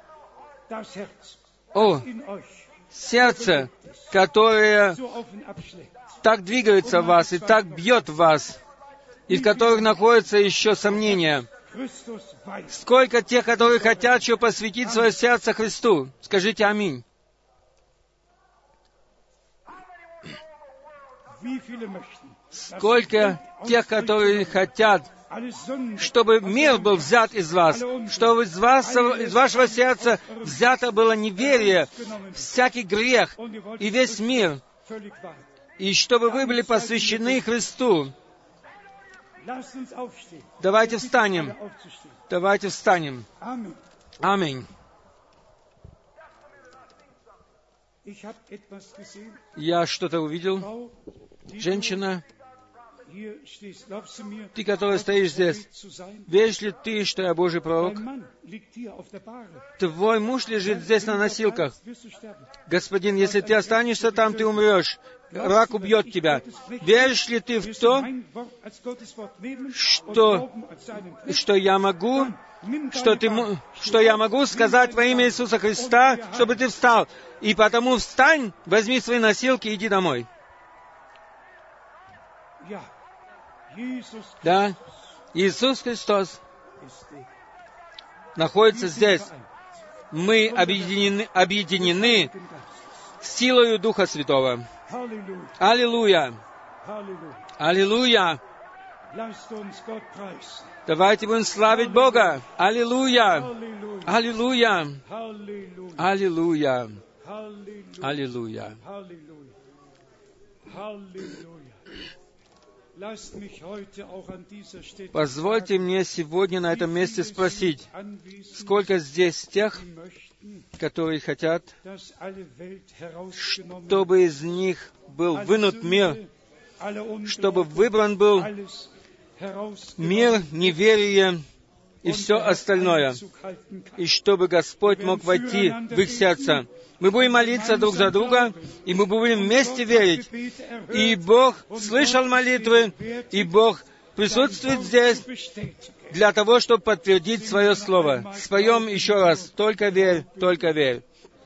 О, сердце, которое так двигается в вас и так бьет в вас, и в которых находятся еще сомнения. Сколько тех, которые хотят еще посвятить свое сердце Христу? Скажите аминь. Сколько тех, которые хотят, чтобы мир был взят из вас, чтобы из, вас, из вашего сердца взято было неверие, всякий грех и весь мир, и чтобы вы были посвящены Христу. Давайте встанем. Давайте встанем. Аминь. Я что-то увидел. Женщина, ты, которая стоишь здесь, веришь ли ты, что я Божий пророк? Твой муж лежит здесь на носилках. Господин, если ты останешься там, ты умрешь. Рак убьет тебя. Веришь ли ты в то, что, что я могу, что, ты, что я могу сказать во имя Иисуса Христа, чтобы ты встал? И потому встань, возьми свои носилки и иди домой. Да, Иисус Христос находится здесь. Мы объединены, объединены силою Духа Святого. Аллилуйя! Аллилуйя! Давайте будем славить Бога! Аллилуйя! Аллилуйя! Аллилуйя! Аллилуйя! Позвольте мне сегодня на этом месте спросить, сколько здесь тех, которые хотят, чтобы из них был вынут мир, чтобы выбран был мир, неверие и все остальное, и чтобы Господь мог войти в их сердца. Мы будем молиться друг за друга, и мы будем вместе верить. И Бог слышал молитвы, и Бог присутствует здесь для того, чтобы подтвердить свое слово. Споем еще раз. Только верь, только верь.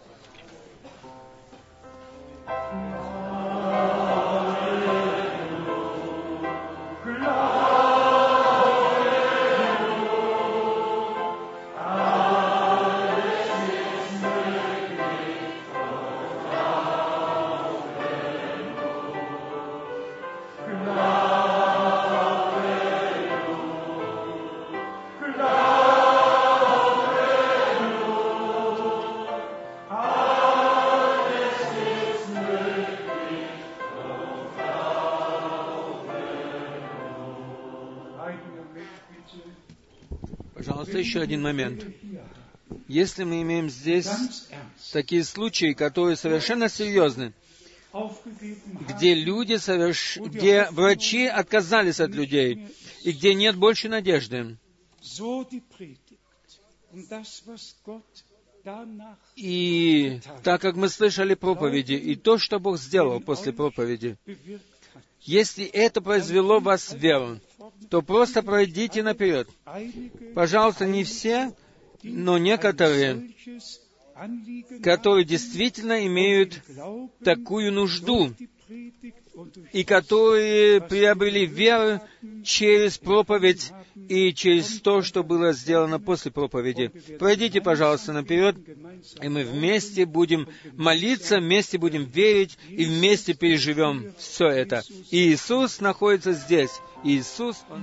Пожалуйста, еще один момент. Если мы имеем здесь такие случаи, которые совершенно серьезны, где люди соверш... где врачи отказались от людей, и где нет больше надежды, и так как мы слышали проповеди, и то, что Бог сделал после проповеди, если это произвело в вас веру, то просто пройдите наперед. Пожалуйста, не все, но некоторые, которые действительно имеют такую нужду, и которые приобрели веру через проповедь и через то, что было сделано после проповеди. Пройдите, пожалуйста, наперед, и мы вместе будем молиться, вместе будем верить, и вместе переживем все это. И Иисус находится здесь. Иисус, Он...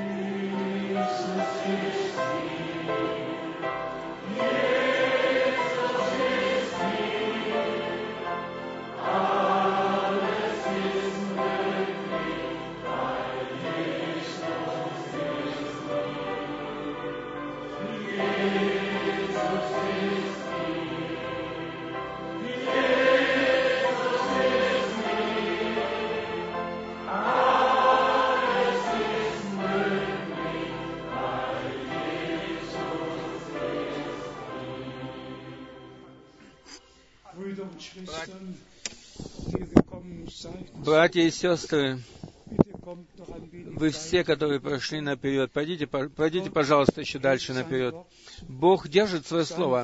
Братья и сестры, вы все, которые прошли наперед, пройдите, пройдите, пожалуйста, еще дальше наперед. Бог держит свое слово.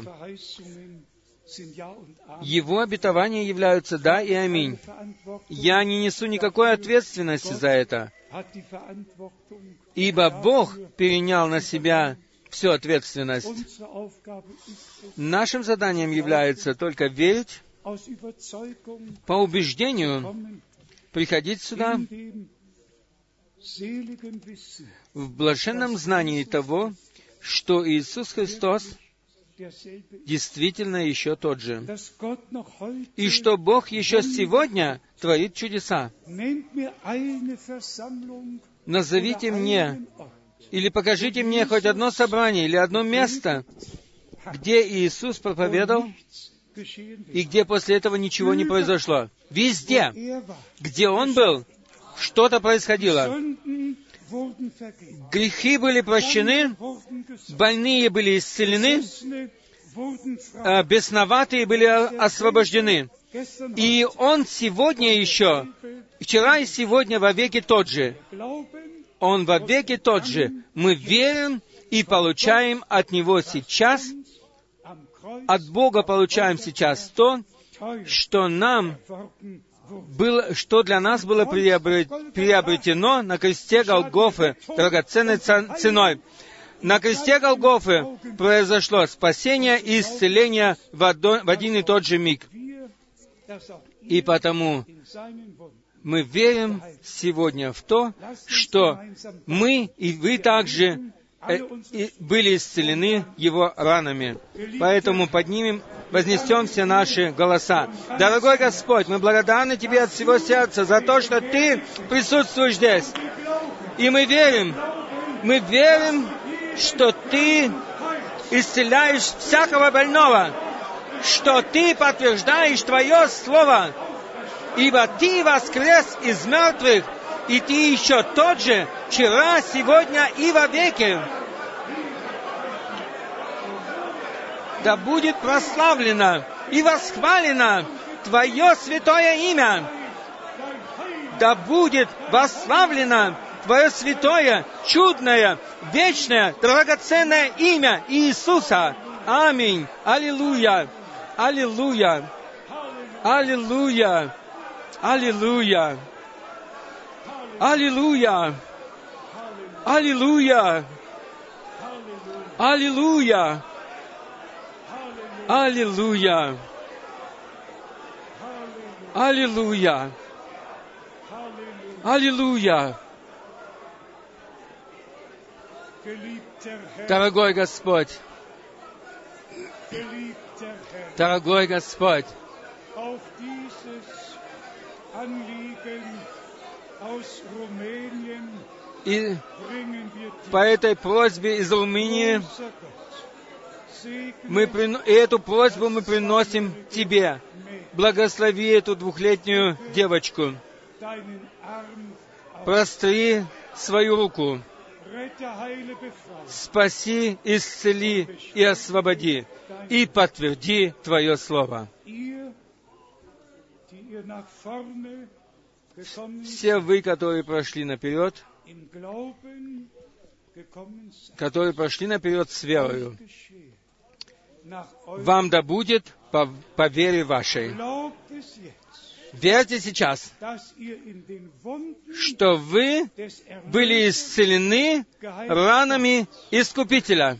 Его обетования являются «да» и «аминь». Я не несу никакой ответственности за это, ибо Бог перенял на себя всю ответственность. Нашим заданием является только верить, по убеждению приходить сюда в блаженном знании того, что Иисус Христос действительно еще тот же, и что Бог еще сегодня творит чудеса. Назовите мне или покажите мне хоть одно собрание или одно место, где Иисус проповедовал, и где после этого ничего не произошло. Везде, где Он был, что-то происходило. Грехи были прощены, больные были исцелены, бесноватые были освобождены. И Он сегодня еще, вчера и сегодня вовеки тот же. Он вовеки тот же. Мы верим и получаем от Него сейчас, от Бога получаем сейчас то, что нам было, что для нас было приобретено на кресте Голгофы драгоценной ценой. На кресте Голгофы произошло спасение и исцеление в один и тот же миг. И потому мы верим сегодня в то, что мы и вы также были исцелены Его ранами. Поэтому поднимем, вознесем все наши голоса. Дорогой Господь, мы благодарны Тебе от всего сердца за то, что Ты присутствуешь здесь. И мы верим, мы верим, что Ты исцеляешь всякого больного, что Ты подтверждаешь Твое Слово, ибо Ты воскрес из мертвых, И Ты еще тот же, вчера, сегодня и вовеки. Да будет прославлено и восхвалено Твое святое имя. Да будет восславлено Твое святое, чудное, вечное, драгоценное имя Иисуса. Аминь. Аллилуйя. Аллилуйя. Аллилуйя. Аллилуйя. Аллилуйя. Аллилуйя. Аллилуйя. Аллилуйя. Аллилуйя. Аллилуйя. Дорогой Господь, дорогой Господь, и по этой просьбе из Румынии мы прин... и эту просьбу мы приносим Тебе. Благослови эту двухлетнюю девочку. Простри свою руку. Спаси, исцели и освободи. И подтверди Твое Слово. Все вы, которые прошли наперед, которые прошли наперед с верою, вам да будет по, по вере вашей. Верьте сейчас, что вы были исцелены ранами Искупителя.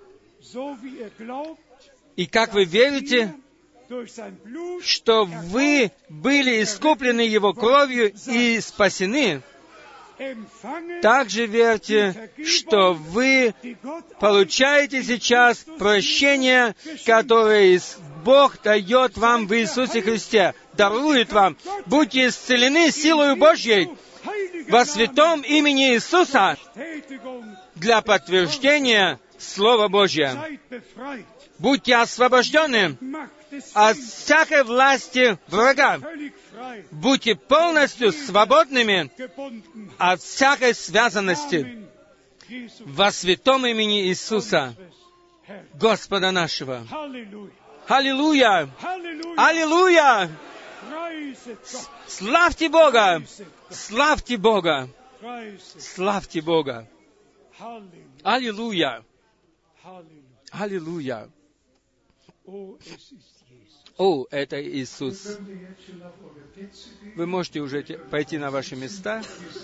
И как вы верите, что вы были искуплены Его кровью и спасены, также верьте, что вы получаете сейчас прощение, которое Бог дает вам в Иисусе Христе, дарует вам. Будьте исцелены силою Божьей во святом имени Иисуса для подтверждения Слова Божьего. Будьте освобождены от всякой власти врага. Будьте полностью свободными от всякой связанности во святом имени Иисуса, Господа нашего. Аллилуйя! Аллилуйя! Славьте Бога! Славьте Бога! Славьте Бога! Аллилуйя! Аллилуйя! О, это Иисус. Вы можете уже пойти на ваши места.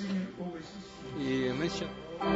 И мы сейчас...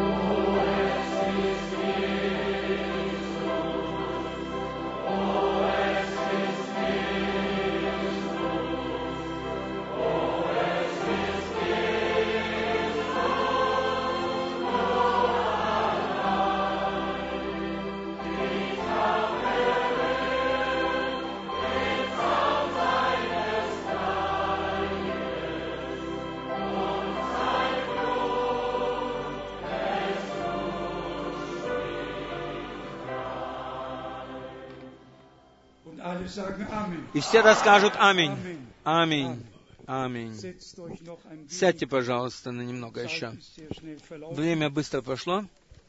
И все расскажут Аминь. Аминь. Аминь. Сядьте, пожалуйста, на немного еще. Время быстро прошло.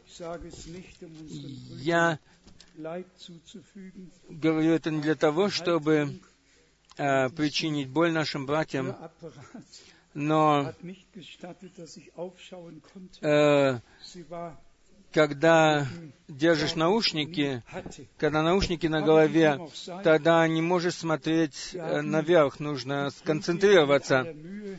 Я говорю это не для того, чтобы э, причинить боль нашим братьям, но э, когда держишь наушники, когда наушники на голове, тогда не можешь смотреть наверх, нужно сконцентрироваться.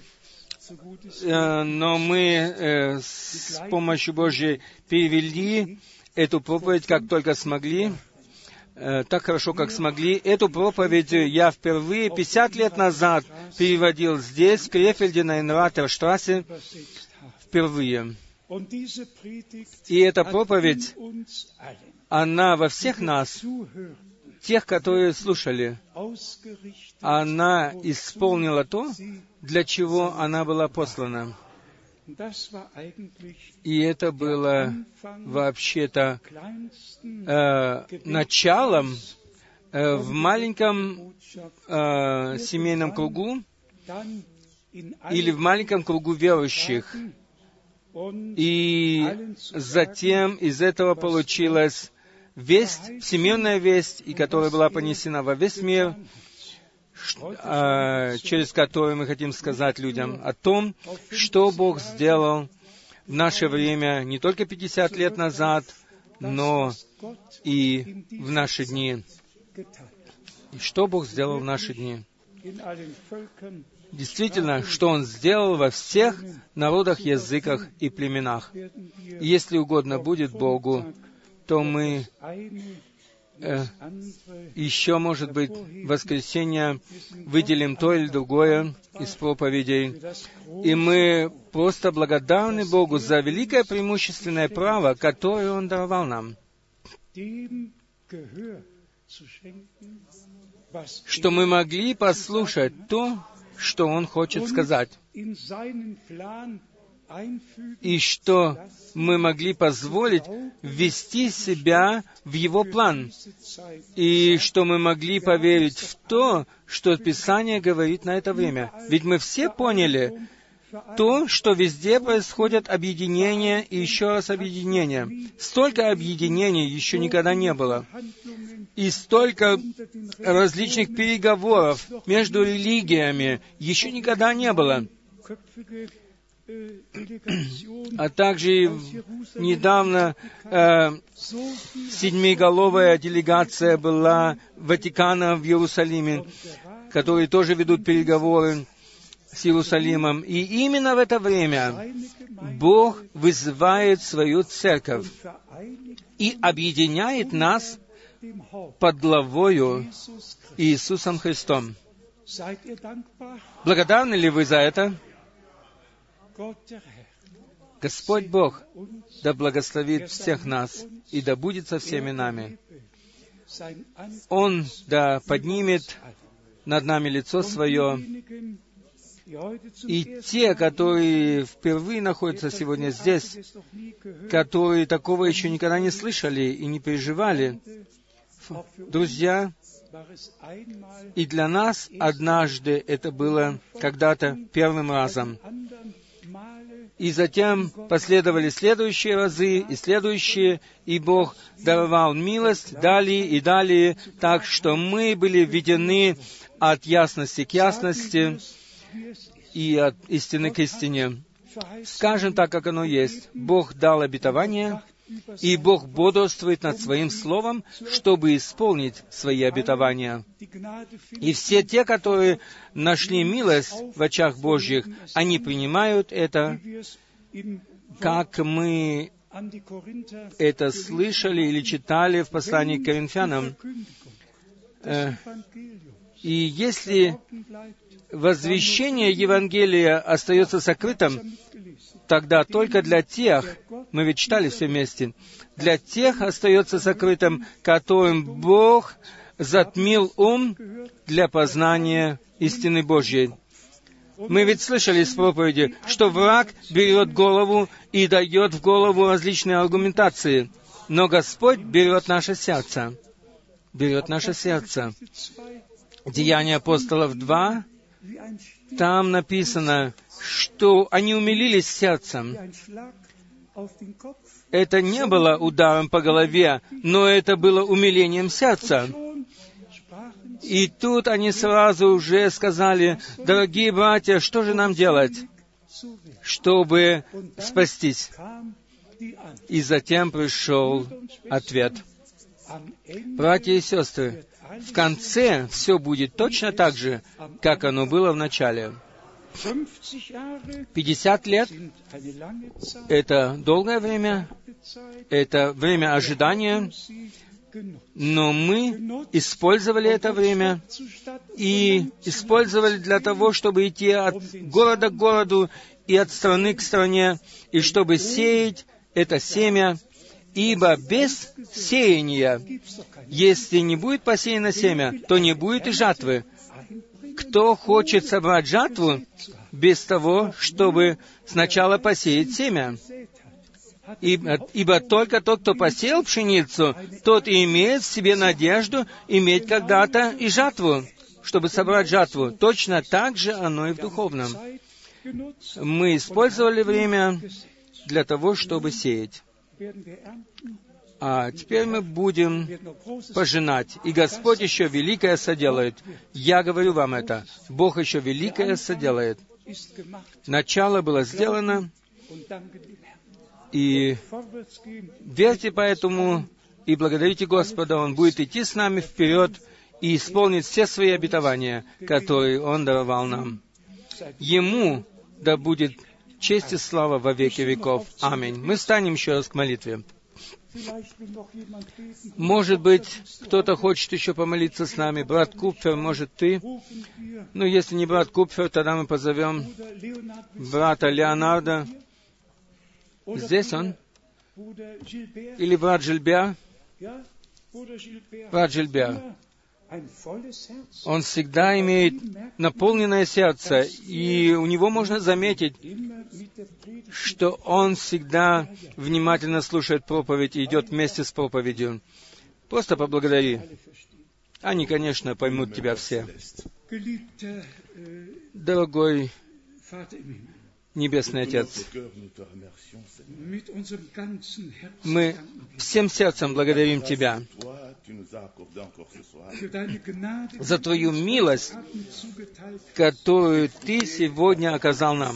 Но мы с помощью Божьей перевели эту проповедь, как только смогли, так хорошо, как смогли. Эту проповедь я впервые пятьдесят лет назад переводил здесь, в Крефельде, на Инратерштрассе, впервые. И эта проповедь, она во всех нас, тех, которые слушали, она исполнила то, для чего она была послана. И это было вообще-то э, началом э, в маленьком э, семейном кругу, или в маленьком кругу верующих. И затем из этого получилась весть, всемирная весть, и которая была понесена во весь мир, через которую мы хотим сказать людям о том, что Бог сделал в наше время не только пятьдесят лет назад, но и в наши дни. И что Бог сделал в наши дни? Действительно, что Он сделал во всех народах, языках и племенах. И если угодно будет Богу, то мы э, еще, может быть, в воскресенье выделим то или другое из проповедей. И мы просто благодарны Богу за великое преимущественное право, которое Он даровал нам, что мы могли послушать то, что Он хочет сказать, и что мы могли позволить ввести себя в Его план, и что мы могли поверить в то, что Писание говорит на это время. Ведь мы все поняли то, что везде происходят объединения и еще раз объединения. Столько объединений еще никогда не было. И столько различных переговоров между религиями еще никогда не было. А также недавно э, седьмиголовая делегация была Ватикана в Иерусалиме, которые тоже ведут переговоры с Иерусалимом. И именно в это время Бог вызывает свою церковь и объединяет нас под главою Иисусом Христом. Благодарны ли вы за это? Господь Бог да благословит всех нас и да будет со всеми нами. Он да поднимет над нами лицо Свое, и те, которые впервые находятся сегодня здесь, которые такого еще никогда не слышали и не переживали, друзья, и для нас однажды это было когда-то первым разом. И затем последовали следующие разы и следующие, и Бог даровал милость далее и далее, так что мы были введены от ясности к ясности и от истины к истине. Скажем так, как оно есть. Бог дал обетование, и Бог бодрствует над Своим Словом, чтобы исполнить Свои обетования. И все те, которые нашли милость в очах Божьих, они принимают это, как мы это слышали или читали в послании к Коринфянам. И если возвещение Евангелия остается сокрытым, тогда только для тех, мы ведь читали все вместе, для тех остается сокрытым, которым Бог затмил ум для познания истины Божьей. Мы ведь слышали из проповеди, что враг берет голову и дает в голову различные аргументации, но Господь берет наше сердце, берет наше сердце. Деяния апостолов два, там написано, что они умилились сердцем. Это не было ударом по голове, но это было умилением сердца. И тут они сразу уже сказали: дорогие братья, что же нам делать, чтобы спастись? И затем пришел ответ. Братья и сестры, в конце все будет точно так же, как оно было в начале. Пятьдесят лет — это долгое время, это время ожидания, но мы использовали это время и использовали для того, чтобы идти от города к городу и от страны к стране, и чтобы сеять это семя, ибо без сеяния, если не будет посеяно семя, то не будет и жатвы. Кто хочет собрать жатву без того, чтобы сначала посеять семя? Ибо, ибо только тот, кто посеял пшеницу, тот и имеет в себе надежду иметь когда-то и жатву. чтобы собрать жатву. Точно так же оно и в духовном. Мы использовали время для того, чтобы сеять. А теперь мы будем пожинать. И Господь еще великое соделает. Я говорю вам это. Бог еще великое соделает. Начало было сделано, и верьте поэтому и благодарите Господа. Он будет идти с нами вперед и исполнит все свои обетования, которые Он даровал нам. Ему да будет честь и слава во веки веков. Аминь. Мы встанем еще раз к молитве. Может быть, кто-то хочет еще помолиться с нами. Брат Купфер, может, ты? Ну, если не брат Купфер, тогда мы позовем брата Леонарда. Здесь он? Или брат Жильбер? Брат Жильбер. Он всегда имеет наполненное сердце, и у него можно заметить, что он всегда внимательно слушает проповедь и идет вместе с проповедью. Просто поблагодари. Они, конечно, поймут тебя все. Дорогой Небесный Отец, мы всем сердцем благодарим Тебя за Твою милость, которую Ты сегодня оказал нам,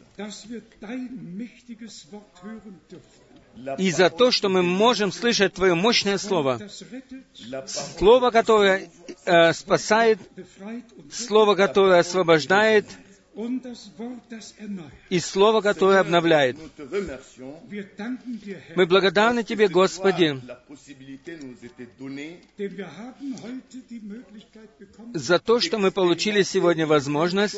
и за то, что мы можем слышать Твое мощное Слово, Слово, которое э, спасает, Слово, которое освобождает, и Слово, которое обновляет. Мы благодарны Тебе, Господи, за то, что мы получили сегодня возможность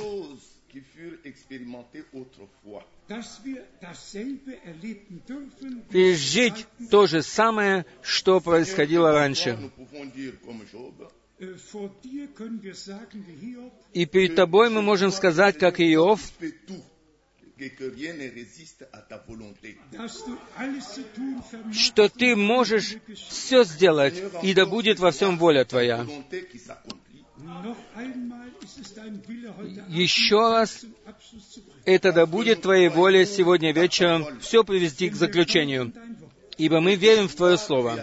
пережить то же самое, что происходило раньше. И перед Тобой мы можем сказать, как Иов, что Ты можешь все сделать, и да будет во всем воля Твоя. Еще раз, это да будет Твоей волей сегодня вечером все привести к заключению, ибо мы верим в Твое Слово.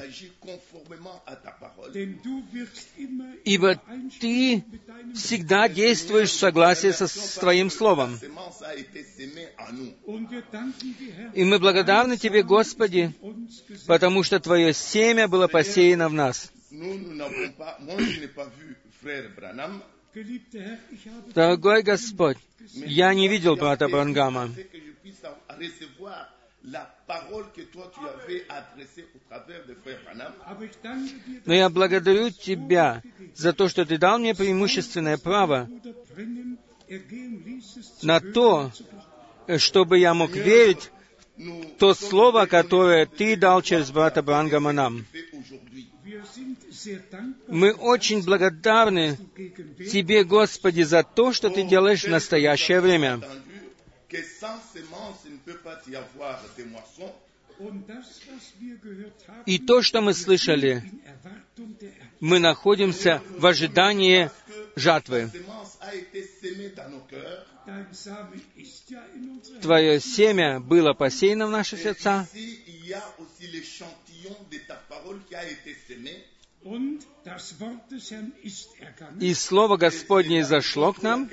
Ибо Ты всегда действуешь в согласии со, с Твоим Словом. И мы благодарны Тебе, Господи, потому что Твое семя было посеяно в нас. Дорогой Господь, я не видел брата Бранхама, но я благодарю Тебя за то, что Ты дал мне преимущественное право на то, чтобы я мог верить в то Слово, которое Ты дал через брата Бранхама нам. Мы очень благодарны Тебе, Господи, за то, что Ты делаешь в настоящее время. И то, что мы слышали, мы находимся в ожидании жатвы. Твое семя было посеяно в наши сердца, и Слово Господне зашло к нам,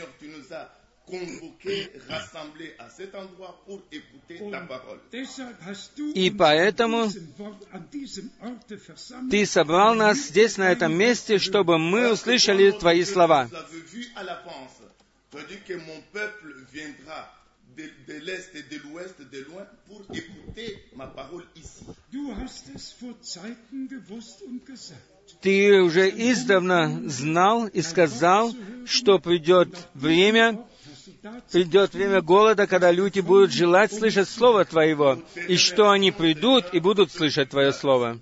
и поэтому Ты собрал нас здесь, на этом месте, чтобы мы услышали Твои слова. Ты уже издавна знал и сказал, что придет время, придет время голода, когда люди будут желать слышать Слово Твоего, и что они придут и будут слышать Твое Слово.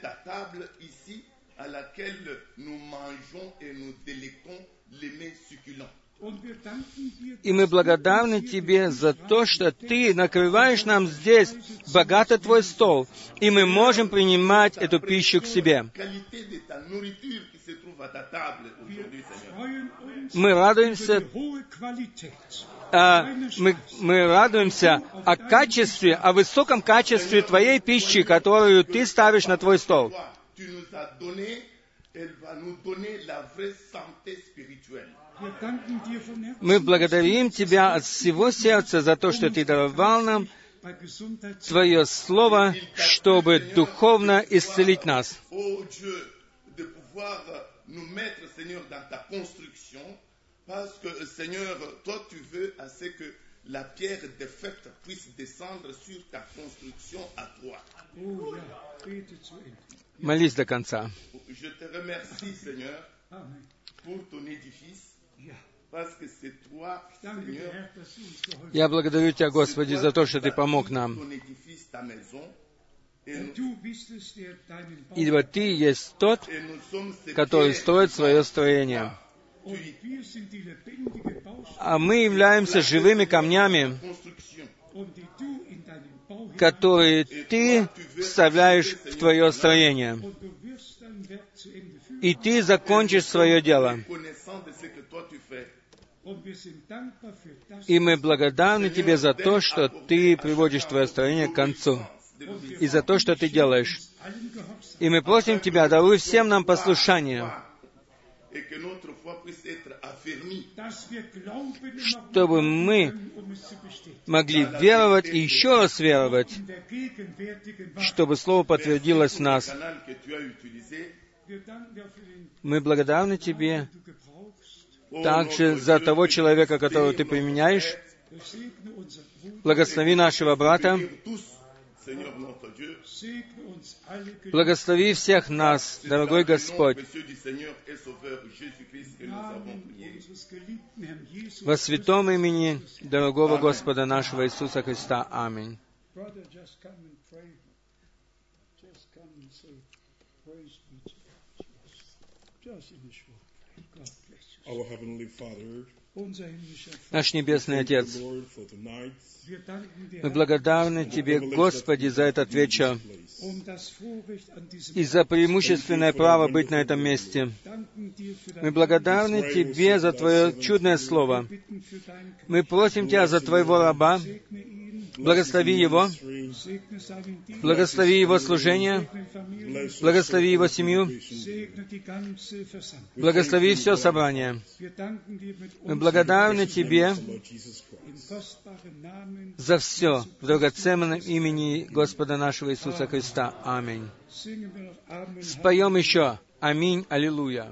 И мы благодарны Тебе за то, что Ты накрываешь нам здесь богато Твой стол, и мы можем принимать эту пищу к себе. Мы радуемся, а, мы, мы радуемся о качестве, о высоком качестве Твоей пищи, которую Ты ставишь на Твой стол. Мы благодарим Тебя от всего сердца за то, что Ты даровал нам Твое Слово, чтобы духовно исцелить нас. Молись до конца. Я благодарю Тебя, Господи, за то, что Ты помог нам. Ибо Ты есть тот, который строит свое строение. А мы являемся живыми камнями, которые Ты вставляешь в Твое строение. И Ты закончишь свое дело. И мы благодарны Тебе за то, что Ты приводишь Твое строение к концу. И за то, что Ты делаешь. И мы просим Тебя, даруй всем нам послушание, чтобы мы могли веровать и еще раз веровать, чтобы Слово подтвердилось в нас. Мы благодарны Тебе также за того человека, которого Ты применяешь. Благослови нашего брата. Благослови всех нас, дорогой Господь. Во святом имени дорогого Господа нашего Иисуса Христа. Аминь. Наш Небесный Отец, мы благодарны Тебе, Господи, за этот вечер и за преимущественное право быть на этом месте. Мы благодарны Тебе за Твое чудное Слово. Мы просим Тебя за Твоего раба. Благослови его, благослови его служение, благослови его семью, благослови все собрание. Мы благодарны Тебе за все в драгоценном имени Господа нашего Иисуса Христа. Аминь. Споем еще. Аминь. Аллилуйя.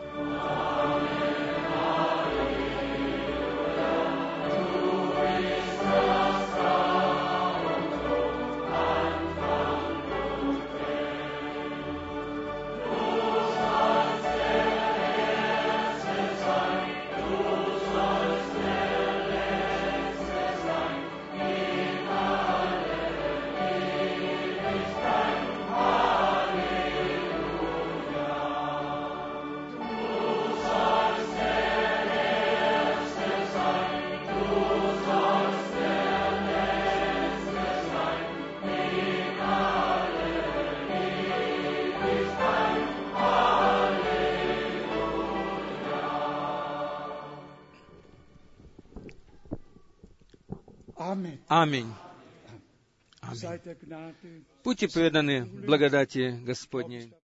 Аминь. Аминь. Будьте преданы благодати Господней.